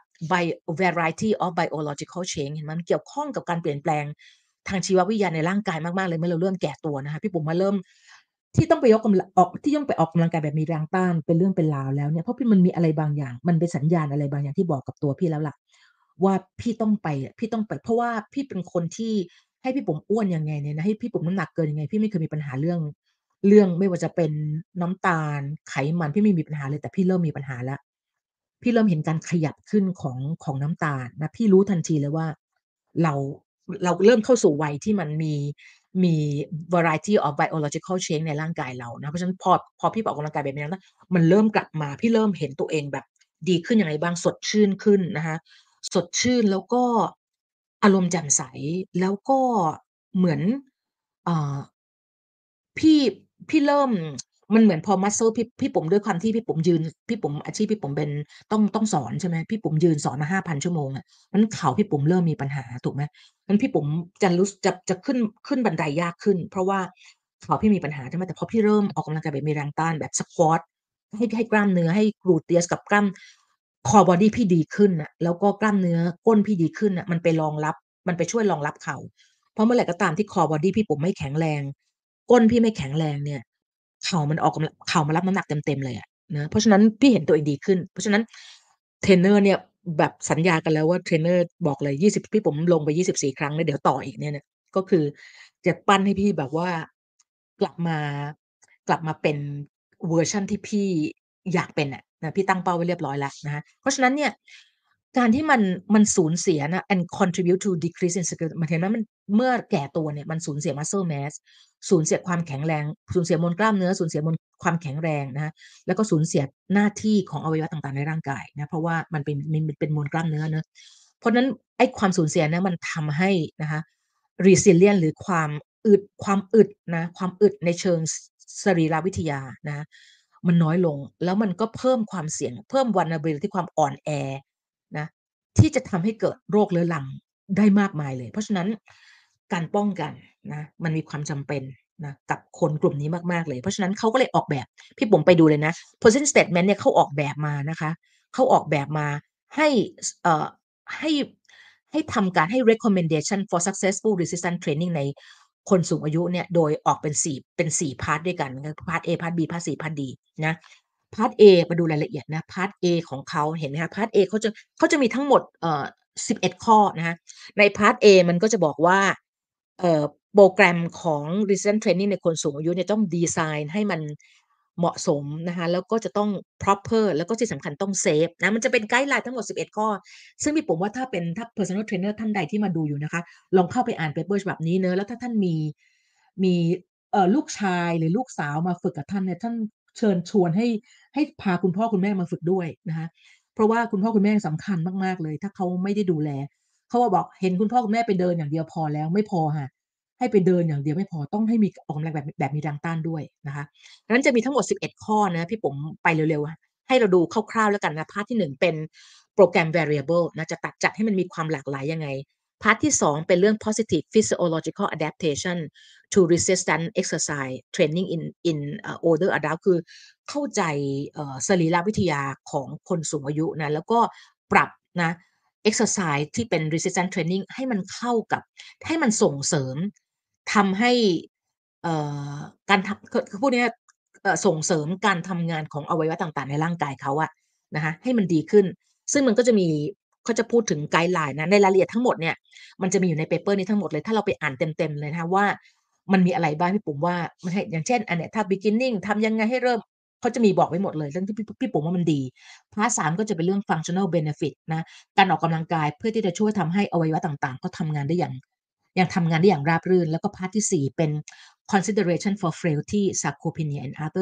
variety of biological change เห็นไหมมันเกี่ยวข้องกับการเปลี่ยนแปลงทางชีววิทยาในร่างกายมากๆเลยเมื่อเราเริ่มแก่ตัวนะคะพี่ปุ๋มมาเริ่มที่ต้องไปยกกำลังออกที่ต้องไปออกกำลังกายแบบมีแรงต้านเป็นเรื่องเป็นราวแล้วเนี่ยเพราะพี่มันมีอะไรบางอย่างมันเป็นสัญญาณอะไรบางอย่างที่บอกกับตัวพี่แล้วล่ะว่าพี่ต้องไปเพราะว่าพี่เป็นคนที่ให้พี่ปุ๋มอ้วนยังไงเนี่ยนะให้พี่ปุ๋มน้ำหนักเกินยังไงพี่ไม่เคยมีปัญหาเรื่องไม่ว่าจะเป็นน้ำตาลไขมันพี่ไม่มีปัญหาเลยแต่พี่เริ่มมีปัญหาแล้วพี่เริ่มเห็นการขยับขึ้นของน้ำตาลนะพี่รู้ทันทีเลยว่าเราเราเริ่มเข้าสู่วัยที่มันมี variety of biological change ในร่างกายเรานะเพราะฉะนั้นพอพี่ไปออกกำลังกายแบบนี้นะมันเริ่มกลับมาพี่เริ่มเห็นตัวเองแบบดีขึ้นยังไงบ้างสดชื่นขึ้นนะคะสดชื่นแล้วก็อารมณ์แจ่มใสแล้วก็เหมือนเอ่อ พี่พี่เริ่มมันเหมือนพอ muscle พี่ปุ๋มด้วยความที่พี่ปุ๋มยืนพี่ปุ๋มอาชีพพี่ปุ๋มเป็นต้องสอนใช่ไหมพี่ปุ๋มยืนสอนมา5,000ชั่วโมงอะงั้นเข่าพี่ปุ๋มเริ่มมีปัญหาถูกไหมงั้นพี่ปุ๋มจะขึ้นบันไดยากขึ้นเพราะว่าเข่าพี่มีปัญหาใช่ไหมแต่พอพี่เริ่มออกกำลังกายแบบมีแรงต้านแบบ squat ให้กล้ามเนื้อให้ gluteus กับกล้าม core body พี่ดีขึ้นน่ะแล้วก็กล้ามเนื้อก้นพี่ดีขึ้นน่ะมันไปช่วยรองรับเข่าเพราะเมื่อไหร่ก็ตามที่ core body พี่ปุ๋มไม่แข็งแรง ก้นพี่ไม่แข็งแรงเนี่ยเข่ามันรับน้ำหนักเต็มๆเลยอะนะเพราะฉะนั้นพี่เห็นตัวเองดีขึ้นเพราะฉะนั้นเทรนเนอร์เนี่ยแบบสัญญากันแล้วว่าเทรนเนอร์บอกเลย20พี่ผมลงไป24ครั้งแล้วเดี๋ยวต่ออีกเนี่ยก็คือจะปั้นให้พี่แบบว่ากลับมากลับมาเป็นเวอร์ชันที่พี่อยากเป็นอะนะพี่ตั้งเป้าไว้เรียบร้อยแล้วนะคะเพราะฉะนั้นเนี่ยการที่มันสูญเสียนะ and contribute to decrease in skill มันเห็นไหมมันเมื่อแก่ตัวเนี่ยมันสูญเสีย muscle mass สูญเสียความแข็งแรงสูญเสียมวลกล้ามเนื้อสูญเสียมวลความแข็งแรงนะแล้วก็สูญเสียหน้าที่ของอวัยวะต่างๆในร่างกายนะเพราะว่ามันเป็นมวลกล้ามเนื้อเนอะเพราะนั้นไอ้ความสูญเสียนะมันทำให้นะคะ resilient หรือความอึดนะความอึดในเชิงสรีรวิทยานะมันน้อยลงแล้วมันก็เพิ่มความเสี่ยงเพิ่ม vulnerability ที่ความอ่อนแอนะที่จะทำให้เกิดโรคเรื้อรังได้มากมายเลยเพราะฉะนั้นการป้องกันนะมันมีความจำเป็นนะกับคนกลุ่มนี้มากๆเลยเพราะฉะนั้นเขาก็เลยออกแบบพี่ผมไปดูเลยนะ position statement เนี่ยเขาออกแบบมานะคะเขาออกแบบมาให้ให้ให้ทำการให้ recommendation for successful resistance training ในคนสูงอายุเนี่ยโดยออกเป็น4พาร์ทด้วยกันพาร์ท A พาร์ท B พาร์ท C พาร์ท D นะพาร์ท A มาดูรายละเอียดนะพาร์ท A ของเขาเห็นไหมคะพาร์ท A เขาจะมีทั้งหมด11ข้อนะคะในพาร์ท A มันก็จะบอกว่าโปรแกรมของ resistance training ในคนสูงอายุเนี่ยต้องดีไซน์ให้มันเหมาะสมนะคะแล้วก็จะต้อง proper แล้วก็ที่สำคัญต้องเซฟนะมันจะเป็นไกด์ไลน์ทั้งหมด11ข้อซึ่งพี่ผมว่าถ้า personal trainer ท่านใดที่มาดูอยู่นะคะลองเข้าไปอ่านเปเปอร์ฉบับนี้เนอะแล้วถ้าท่านมีลูกชายหรือลูกสาวมาฝึกกับท่านเนี่ยท่านเชิญชวนให้พาคุณพ่อคุณแม่มาฝึกด้วยนะคะเพราะว่าคุณพ่อคุณแม่สำคัญมากๆเลยถ้าเขาไม่ได้ดูแลเขาบอกเห็นคุณพ่อคุณแม่ไปเดินอย่างเดียวพอแล้วไม่พอค่ะให้ไปเดินอย่างเดียวไม่พอต้องให้มีออกกำลังแบบมีแรงต้านด้วยนะคะดังนั้นจะมีทั้งหมด11ข้อนะพี่ผมไปเร็วๆให้เราดูคร่าวๆแล้วกันนะพาร์ทที่1เป็นโปรแกรม variable นะจะจัดให้มันมีความหลากหลายยังไงพาร์ทที่2เป็นเรื่อง positive physiological adaptation to resistance exercise training in older adult คือเข้าใจสรีรวิทยาของคนสูงอายุนะแล้วก็ปรับนะ exercise ที่เป็น resistance training ให้มันเข้ากับให้มันส่งเสริมทำให้เอ่อการทำคือพูดง่ายๆส่งเสริมการทำงานของอวัยวะต่างๆในร่างกายเขาอะนะคะให้มันดีขึ้นซึ่งมันก็จะมีเขาจะพูดถึงไกด์ไลน์นะในรายละเอียดทั้งหมดเนี่ยมันจะมีอยู่ในเปเปอร์นี้ทั้งหมดเลยถ้าเราไปอ่านเต็มๆเลยนะคะว่ามันมีอะไรบ้างพี่ปุ๋มว่ามันให้อย่างเช่นอันเนี้ยถ้า beginning ทำยังไงให้เริ่มเขาจะมีบอกไว้หมดเลยเรื่องที่พี่ปุ๋มว่ามันดีพาร์ท3ก็จะเป็นเรื่อง functional benefit นะการออกกำลังกายเพื่อที่จะช่วยทำให้อวัยวะต่างๆเขาทำงานได้อย่างยังทำงานได้อย่างราบรื่นแล้วก็พาร์ทที่4เป็น consideration for frailty sarcopenia and other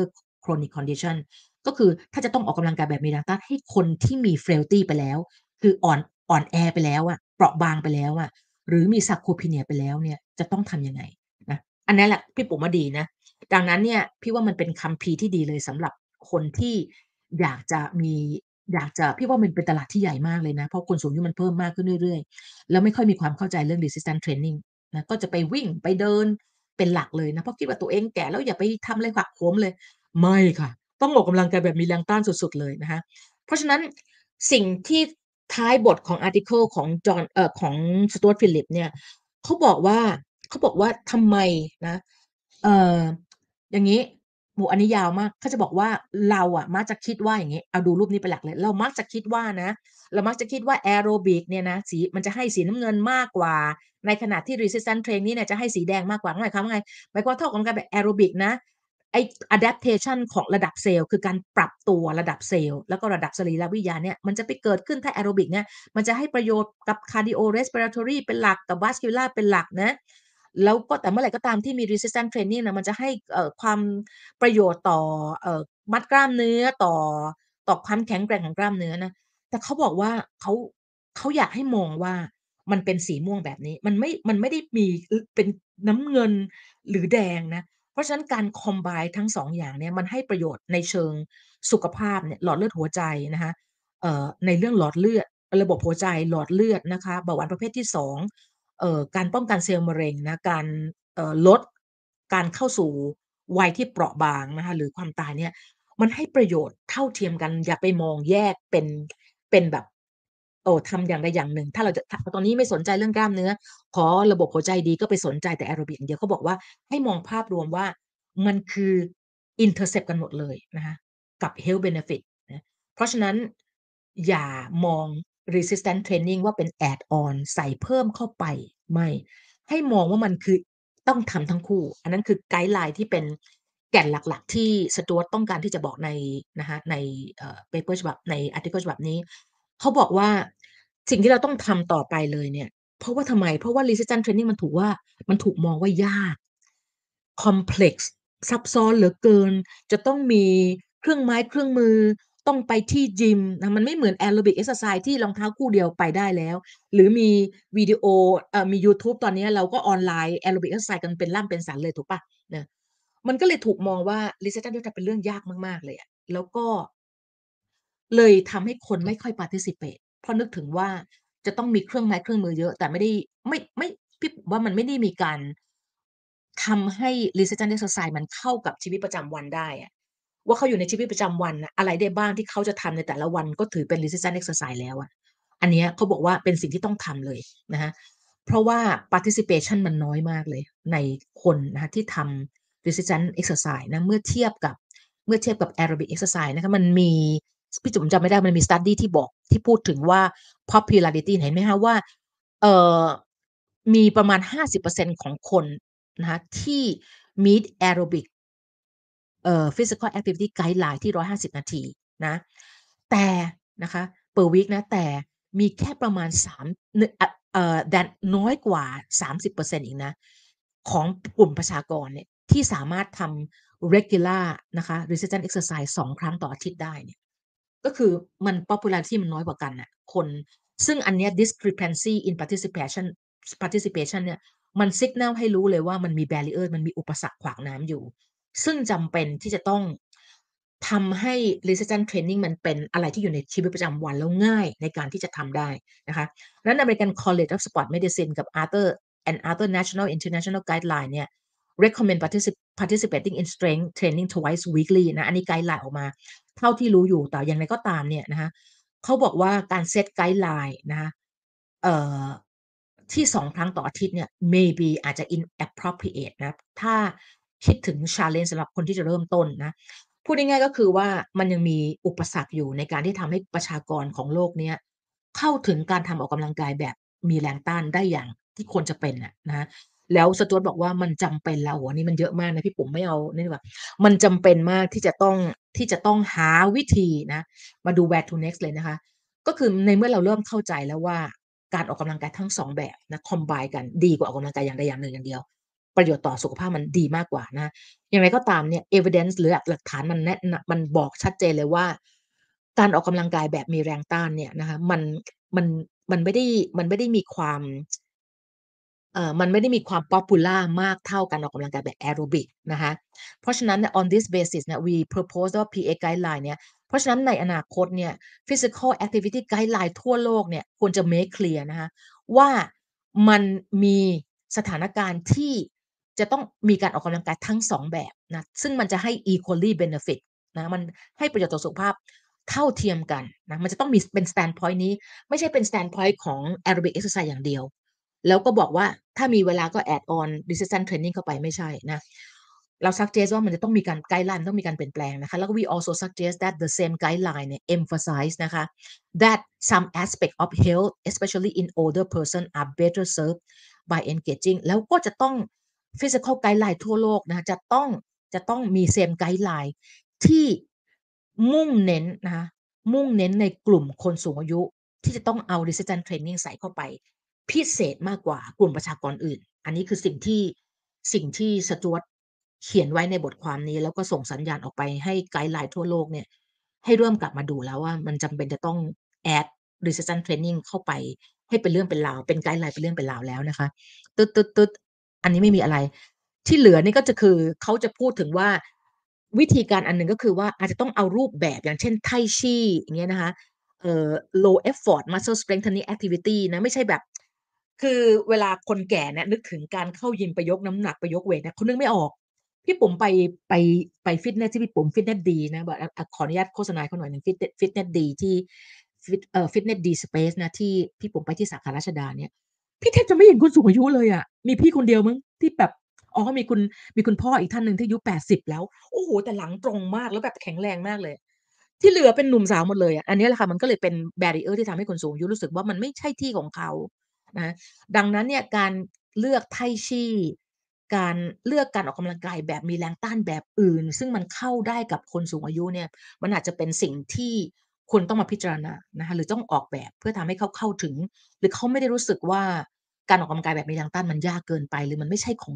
chronic condition ก็คือถ้าจะต้องออกกำลังกายแบบมีแรงต้านให้คนที่มี frailty ไปแล้วคืออ่อนแอไปแล้วอะเปราะบางไปแล้วอะหรือมี sarcopenia ไปแล้วเนี่ยจะต้องทำยังไงนะอันนั้นแหละพี่ปุ๋มว่าดีนะดังนั้นเนี่ยพี่ว่ามันเป็นคัมภีร์ที่ดีเลยสำหรับคนที่อยากจะมีอยากจะพี่ว่ามันเป็นตลาดที่ใหญ่มากเลยนะเพราะคนสูงอายุมันเพิ่มมากขึ้นเรื่อยๆแล้วไม่ค่อยมีความเข้าใจเรื่อง resistance training นะก็จะไปวิ่งไปเดินเป็นหลักเลยนะเพราะคิดว่าตัวเองแก่แล้วอย่าไปทำอะไรหักโหมเลยไม่ค่ะต้องออกกำลังกายแบบมีแรงต้านสุดๆเลยนะคะเพราะฉะนั้นสิ่งที่ท้ายบทของอาร์ติเคิลของจอห์นของสตู a าร์ตฟิลิปเนี่ยเขาบอกว่าเขาบอกว่าทำไมนะเอ่ออย่างนี้โหอันนี้ยาวมากเขาจะบอกว่าเราอะมักจะคิดว่าอย่างนี้เอาดูรูปนี้เป็นหลักเลยเรามักจะคิดว่านะเรามักจะคิดว่าแอโรบิกเนี่ยนะสีมันจะให้สีน้ำเงินมากกว่าในขณะที่ resistance training เนี่ยจะให้สีแดงมากกว่าหมายความว่าไงหมายความว่าเท่ากับการแบบแอโรบิกนะไอ้ adaptation ของระดับเซลล์คือการปรับตัวระดับเซลล์แล้วก็ระดับสรีรวิทยาเนี่ยมันจะไปเกิดขึ้นถ้าแอโรบิกเนี่ยมันจะให้ประโยชน์กับ cardio respiratory เป็นหลักกับ vascular เป็นหลักนะแล้วก็แต่เมื่อไหร่ก็ตามที่มี resistance training นะมันจะให้ความประโยชน์ต่อมัดกล้ามเนื้อต่อความแข็งแกร่งของกล้ามเนื้อนะแต่เขาบอกว่าเขาเขาอยากให้มองว่ามันเป็นสีม่วงแบบนี้มันไม่ได้มีเป็นน้ำเงินหรือแดงนะเพราะฉะนั้นการ combine ทั้ง2องอย่างเนี่ยมันให้ประโยชน์ในเชิงสุขภาพเนี่ยหลอดเลือดหัวใจนะคะในเรื่องหลอดเลือดระบบหัวใจหลอดเลือดนะคะเบาหวานประเภทที่2การป้องกันเซลล์มะเร็งนะการลดการเข้าสู่วัยที่เปราะบางนะคะหรือความตายเนี่ยมันให้ประโยชน์เท่าเทียมกันอย่าไปมองแยกเป็นแบบทำอย่างใดอย่างหนึ่งถ้าเราจะตอนนี้ไม่สนใจเรื่องกล้ามเนื้อขอระบบหัวใจดีก็ไปสนใจแต่แอโรบิกอย่างเดียวเขาบอกว่าให้มองภาพรวมว่ามันคือ intercept กันหมดเลยนะคะกับ health benefit นะเพราะฉะนั้นอย่ามอง resistance training ว่าเป็น add on ใส่เพิ่มเข้าไปไม่ให้มองว่ามันคือต้องทำทั้งคู่อันนั้นคือไกด์ไลน์ที่เป็นแก่นหลักๆที่สจวตต้องการที่จะบอกในนะคะในpaper ฉบับใน article ฉบับนี้เขาบอกว่าสิ่งที่เราต้องทำต่อไปเลยเนี่ยเพราะว่าทำไมเพราะว่า resistance training มันถูกมองว่ายาก complex ซับซ้อนเหลือเกินจะต้องมีเครื่องไม้เครื่องมือต้องไปที่ยิมนะมันไม่เหมือนแอโรบิกเอ็กซ์ไซส์ที่รองเท้าคู่เดียวไปได้แล้วหรือมีวิดีโอมียูทูบตอนนี้เราก็ออนไลน์แอโรบิกเอ็กซ์ไซส์กันเป็นล่ำเป็นสันเลยถูกปะนะมันก็เลยถูกมองว่า resistance training เป็นเรื่องยากมากๆเลยอะแล้วก็เลยทำให้คนไม่ค่อย participate เพราะนึกถึงว่าจะต้องมีเครื่องไม้เครื่องมือเยอะแต่ไม่ได้ไม่พี่ว่ามันไม่ได้มีการ ทำให้ resistance exercise มันเข้ากับชีวิตประจำวันได้อะว่าเขาอยู่ในชีวิตประจำวันน่ะอะไรได้บ้างที่เขาจะทำในแต่ละวันก็ถือเป็น resistance exercise แล้วอะอันเนี้ยเขาบอกว่าเป็นสิ่งที่ต้องทำเลยนะคะเพราะว่า participation มันน้อยมากเลยในคนนะคะที่ทำ resistance exercise นะเมื่อเทียบกับ aerobic exercise นะคะมันมีพี่จุ๋มจำไม่ได้มันมี study ที่พูดถึงว่า popularity เห็นไหมคะว่าเอ่อมีประมาณ50%ของคนนะคะที่ meet aerobic physical activity guideline ที่150นาทีนะแต่นะคะ per week นะแต่มีแค่ประมาณ3นดันน้อยกว่า30%อีกนะของกลุ่มประชากรเนี่ยที่สามารถทำ regular นะคะ resistance exercise 2ครั้งต่ออาทิตย์ได้เนี่ยก็คือมัน popularity มันน้อยกว่ากันน่ะคนซึ่งอันเนี้ย discrepancy in participation เนี่ยมัน signal ให้รู้เลยว่ามันมี barrier มันมีอุปสรรคขวางน้ำอยู่ ซึ่งจำเป็นที่จะต้องทำให้ resistance training มันเป็นอะไรที่อยู่ในชีวิตประจำวันแล้วง่ายในการที่จะทำได้นะคะดังนั้น American College of Sport Medicine กับ Other National International Guideline เนี่ย recommend participating in strength training twice weekly นะอันนี้ไกด์ไลน์ออกมาเท่าที่รู้อยู่แต่อย่างไรก็ตามเนี่ยนะคะเขาบอกว่าการเซตไกด์ไลน์นะคะเอ่อที่2 ครั้งต่ออาทิตย์เนี่ย maybe อาจจะ inappropriate นะถ้าคิดถึง challenge สำหรับคนที่จะเริ่มต้นนะพูดง่ายๆก็คือว่ามันยังมีอุปสรรคอยู่ในการที่ทำให้ประชากรของโลกเนี้ยเข้าถึงการทำออกกำลังกายแบบมีแรงต้านได้อย่างที่ควรจะเป็นน่ะนะคะแล้วสจ๊วตบอกว่ามันจำเป็นแล้วโอ้โฮอันนี้มันเยอะมากนะพี่ปุ๋มไม่เอานี่ดีกว่ามันจำเป็นมากที่จะต้องหาวิธีนะมาดู where to next เลยนะคะ ก็คือในเมื่อเราเริ่มเข้าใจแล้วว่าการออกกำลังกายทั้ง2แบบนะ combine กันดีกว่าออกกำลังกายอย่างใดอย่างหนึ่งอย่างเดียวประโยชน์ต่อสุขภาพมันดีมากกว่านะคะอย่างไรก็ตามเนี่ย evidence หรือหลักฐานมันแนะนมันบอกชัดเจนเลยว่าการออกกำลังกายแบบมีแรงต้านเนี่ยนะคะมันมันไม่ได้มันไม่ได้มีความมันไม่ได้มีความ popular มากเท่าการออกกำลังกายแบบแอโรบิกนะคะเพราะฉะนั้นเนี่ย on this basis เนี่ย we propose ว่า PA guideline เนี่ยเพราะฉะนั้นในอนาคตเนี่ย physical activity guideline ทั่วโลกเนี่ยควรจะ make clear นะคะว่ามันมีสถานการณ์ที่จะต้องมีการออกกำลังกายทั้ง2แบบนะซึ่งมันจะให้ equally benefit นะมันให้ประโยชน์ต่อสุขภาพเท่าเทียมกันนะมันจะต้องมีเป็น standpoint นี้ไม่ใช่เป็น standpoint ของ aerobic exercise อย่างเดียว แล้วก็บอกว่าถ้ามีเวลาก็ add on resistance training เข้าไปไม่ใช่นะเรา suggest ว่ามันจะต้องมีการไกด์ไลน์ต้องมีการเปลี่ยนแปลงนะคะแล้วก็ we also suggest that the same guideline เนี่ย emphasize นะคะ that some aspect of health especially in older person are better served by engaging แล้วก็จะต้อง physical guideline ทั่วโลกนะคะจะต้องมี same guideline ที่มุ่งเน้นนะคะมุ่งเน้นในกลุ่มคนสูงอายุที่จะต้องเอา resistance training ใส่เข้าไป พิเศษมากกว่ากลุ่มประชากรอื่น อันนี้คือสิ่งที่สจ๊วตเขียนไว้ในบทความนี้แล้วก็ส่งสัญญาณออกไปให้ไกด์ไลน์ทั่วโลกเนี่ยให้เริ่มกลับมาดูแล้วว่ามันจำเป็นจะต้อง add resistance training เข้าไปให้เป็นเรื่องเป็นราวเป็นไกด์ไลน์เป็นเรื่องเป็นราวแล้วนะคะตึ๊ดๆๆอันนี้ไม่มีอะไรที่เหลือนี่ก็จะคือเขาจะพูดถึงว่าวิธีการอันหนึ่งก็คือว่าอาจจะต้องเอารูปแบบอย่างเช่นไทชีอย่างเงี้ยนะคะ low effort muscle strengthening activity นะไม่ใช่แบบคือเวลาคนแก่เนี่ยนึกถึงการเข้ายิมไปยกน้ำหนักไปยกเวตเนี่ยเขานึกไม่ออกพี่ปุ๋มไปไปฟิตเนสที่พี่ปุ๋มฟิตเนสดีนะบอกขออนุญาตโฆษณาเขาหน่อยหนึ่งฟิตเนสดีที่ฟิตเนสดีสเปซนะที่พี่ปุ๋มไปที่สาขาราชดาเนี่ยพี่แทบจะไม่เห็นคนสูงอายุเลยอ่ะมีพี่คนเดียวมั้งที่แบบอ๋อมีคุณพ่ออีกท่านหนึ่งที่อายุ80แล้วโอ้โหแต่หลังตรงมากแล้วแบบแข็งแรงมากเลย ที่เหลือเป็นหนุ่มสาวหมดเลยอะอันนี้แหละค่ะมันก็เลยเป็น barrier ที่ทำให้คนสูงอายุรู้สึกว่ามันไม่ใช่ที่ของเขานะดังนั้นเนี่ยการเลือกไท่ชี่การเลือกการออกกำลังกายแบบมีแรงต้านแบบอื่นซึ่งมันเข้าได้กับคนสูงอายุเนี่ยมันอาจจะเป็นสิ่งที่คุณต้องมาพิจารณานะคะหรือต้องออกแบบเพื่อทำให้เขาเข้าถึงหรือเขาไม่ได้รู้สึกว่าการออกกำลังกายแบบมีแรงต้านมันยากเกินไปหรือ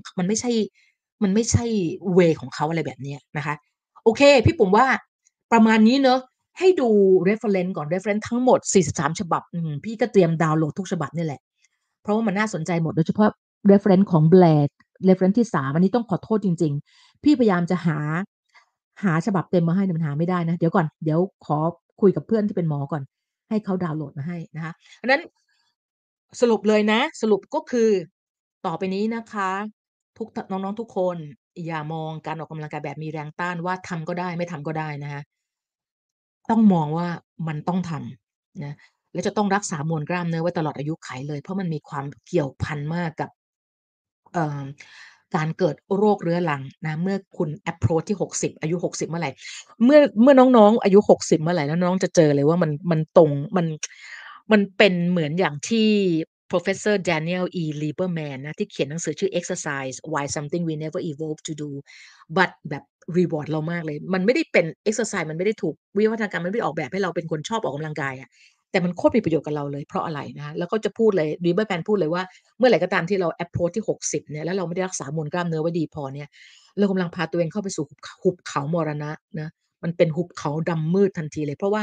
มันไม่ใช่เวย์ของเขาอะไรแบบเนี้ยนะคะโอเคพี่ปุ๋มว่า ประมาณนี้เนาะให้ดู reference ก่อน reference ทั้งหมด43ฉบับพี่ก็เตรียมดาวน์โหลดทุกฉบับนี่แหละเพราะว่ามันน่าสนใจหมดโดยเฉพาะ reference ของ Blair reference ที่3อันนี้ต้องขอโทษจริงๆพี่พยายามจะหาฉบับเต็มมาให้แต่มันหาไม่ได้นะเดี๋ยวก่อนเดี๋ยวขอคุยกับเพื่อนที่เป็นหมอก่อนให้เขาดาวน์โหลดมาให้นะคะอันนั้นสรุปเลยนะสรุปก็คือต่อไปนี้นะคะน้องๆทุกคนอย่ามองการออกกำลังกายแบบมีแรงต้านว่าทำก็ได้ไม่ทำก็ได้นะคะ ต้องมองว่ามันต้องทำนะและจะต้องรักษามวลกล้ามเนื้อไว้ตลอดอายุขัยเลยเพราะมันมีความเกี่ยวพันมากกับเอ่อการเกิดโรคเรื้อรังนะเมื่อคุณ approach ที่60อายุ60เมื่อไหร่เมื่อน้องๆอายุ60เมื่อไหร่แล้วน้องจะเจอเลยว่ามันตรงมันเป็นเหมือนอย่างที่ Professor Daniel E. Lieberman นะที่เขียนหนังสือชื่อ Exercise Why Something We Never Evolved to Do but แบบ reward เรามากเลยมันไม่ได้เป็น exercise มันไม่ได้ถูกวิวัฒนาการมันไม่ได้ออกแบบให้เราเป็นคนชอบออกกำลังกายอะแต่มันโคตรมีประโยชน์กับเราเลยเพราะอะไรนะแล้วก็จะพูดเลย Lieberman พูดเลยว่าเมื่อไหร่ก็ตามที่เรา approach ที่60เนี่ยแล้วเราไม่ได้รักษามวลกล้ามเนื้อไว้ดีพอเนี่ยเรากำลังพาตัวเองเข้าไปสู่หุบเขามรณะนะมันเป็นหุบเขาดำมืดทันทีเลยเพราะว่า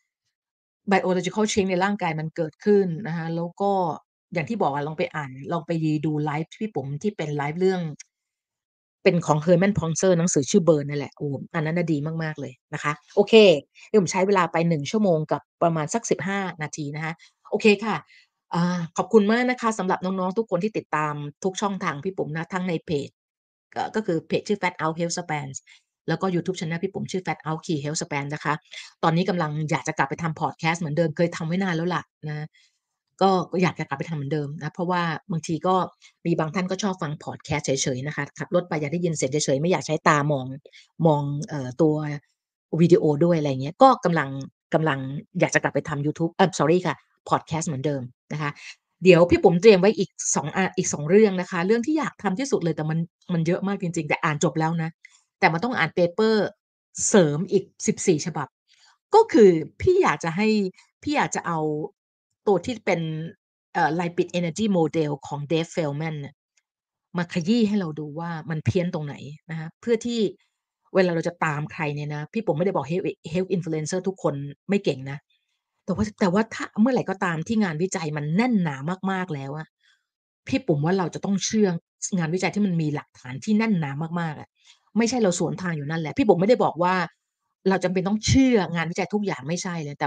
biological change ในร่างกายมันเกิดขึ้นนะคะแล้วก็อย่างที่บอกอะลองไปดูไลฟ์พี่ปุ๋มที่เป็นไลฟ์เรื่องเป็นของ Herman Pontzer หนังสือชื่อ Burn นั่นแหละโอ้อันนั้นน่ะดีมากๆเลยนะคะโอเคเดี๋ยวผมใช้เวลาไป1ชั่วโมงกับประมาณสัก15นาทีนะคะโอเคค่ะขอบคุณมากนะคะสำหรับน้องๆทุกคนที่ติดตามทุกช่องทางพี่ปุ๋มนะทั้งในเพจก็คือเพจชื่อ Fat Out Health Span แล้วก็ยูทูบ channel พี่ปุ๋มชื่อ Fat Out Key Health Span นะคะตอนนี้กำลังอยากจะกลับไปทำพอดแคสต์เหมือนเดิมเคยทำไว้นานแล้วล่ะนะก็อยากจะกลับไปทำเหมือนเดิมนะเพราะว่าบางทีก็มีบางท่านก็ชอบฟังพอดแคสต์เฉยๆนะคะขับรถไปอยากได้ยินเสียงเฉยๆไม่อยากใช้ตามองตัววิดีโอด้วยอะไรอย่างเงี้ยก็กำลังอยากจะกลับไปทำยูทูบsorry ค่ะพอดแคสต์เหมือนเดิมนะคะเดี๋ยวพี่ปุ๋มเตรียมไว้อีก2เรื่องนะคะเรื่องที่อยากทำที่สุดเลยแต่มันเยอะมากจริงๆแต่อ่านจบแล้วนะ แต่มันต้องอ่านเปเปอร์เสริมอีก14ฉบับก็คือพี่อยากจะให้พี่อยากจะเอาตัวที่เป็นLipid Energy Model ของ Dave Feldman น่ะมาขยี้ให้เราดูว่ามันเพี้ยนตรงไหนนะคะเพื่อที่เวลาเราจะตามใครเนี่ยนะพี่ผมไม่ได้บอก Health Influencer ทุกคนไม่เก่งนะแต่ว่าถ้าเมื่อไหร่ก็ตามที่งานวิจัยมันแน่นหนามากๆแล้วอะพี่ปุ๋มว่าเราจะต้องเชื่องานวิจัยที่มันมีหลักฐานที่แน่นหนามากๆอะไม่ใช่เราสวนทางอยู่นั่นแหละพี่ปุ๋มไม่ได้บอกว่าเราจำเป็นต้องเชื่องานวิจัยทุกอย่างไม่ใช่เลยแต่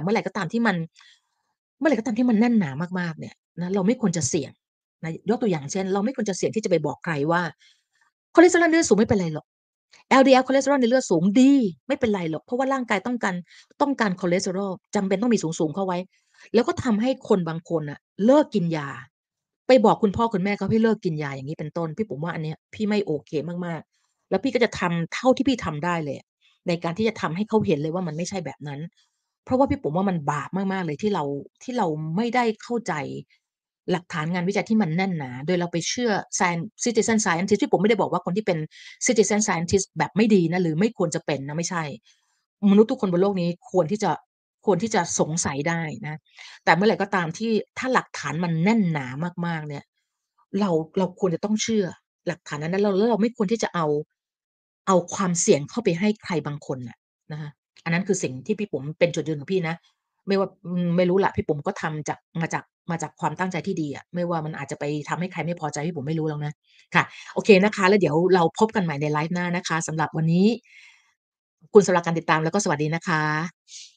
เมื่อไหร่ก็ตามที่มันแน่นหนามากๆเนี่ยนะเราไม่ควรจะเสี่ยง ยกตัวอย่างเช่นเราไม่ควรจะเสี่ยงที่จะไปบอกใครว่าคอเลสเตอรอลในเลือดสูงไม่เป็นไรหรอก LDL คอเลสเตอรอลในเลือดสูงดีไม่เป็นไรหรอกเพราะว่าร่างกายต้องการคอเลสเตอรอลจำเป็นต้องมีสูงๆเข้าไว้แล้วก็ทำให้คนบางคนน่ะเลิกกินยาไปบอกคุณพ่อคุณแม่เขาให้เลิกกินยาอย่างงี้เป็นต้นพี่ผมว่าอันเนี้ยพี่ไม่โอเคมากๆแล้วพี่ก็จะทำเท่าที่พี่ทำได้เลยอะในการที่จะทำให้เขาเห็นเลยว่ามันไม่ใช่แบบนั้นเพราะว่าพี่ผมว่ามันบาปมากๆเลยที่เราไม่ได้เข้าใจหลักฐานงานวิจัยที่มันแน่นหนาโดยเราไปเชื่อ Citizen Scientist ที่ผมไม่ได้บอกว่าคนที่เป็น Citizen Scientist แบบไม่ดีนะหรือไม่ควรจะเป็นนะไม่ใช่มนุษย์ทุกคนบนโลกนี้ควรที่จะสงสัยได้นะแต่เมื่อไหร่ก็ตามที่ถ้าหลักฐานมันแน่นหนามากๆเนี่ยเราเราควรจะต้องเชื่อหลักฐานนั้นๆแล้วเราไม่ควรที่จะเอาความเสี่ยงเข้าไปให้ใครบางคนน่ะนะคะอันนั้นคือสิ่งที่พี่ปุ๋มเป็นจุดยืนของพี่นะ ไม่ว่าไม่รู้แหละพี่ปุ๋มก็ทำมาจากความตั้งใจที่ดีอะไม่ว่ามันอาจจะไปทำให้ใครไม่พอใจพี่ปุ๋มไม่รู้หรอกนะค่ะโอเคนะคะแล้วเดี๋ยวเราพบกันใหม่ในไลฟ์หน้านะคะสำหรับวันนี้ขอบคุณสำหรับการติดตามแล้วก็สวัสดีนะคะ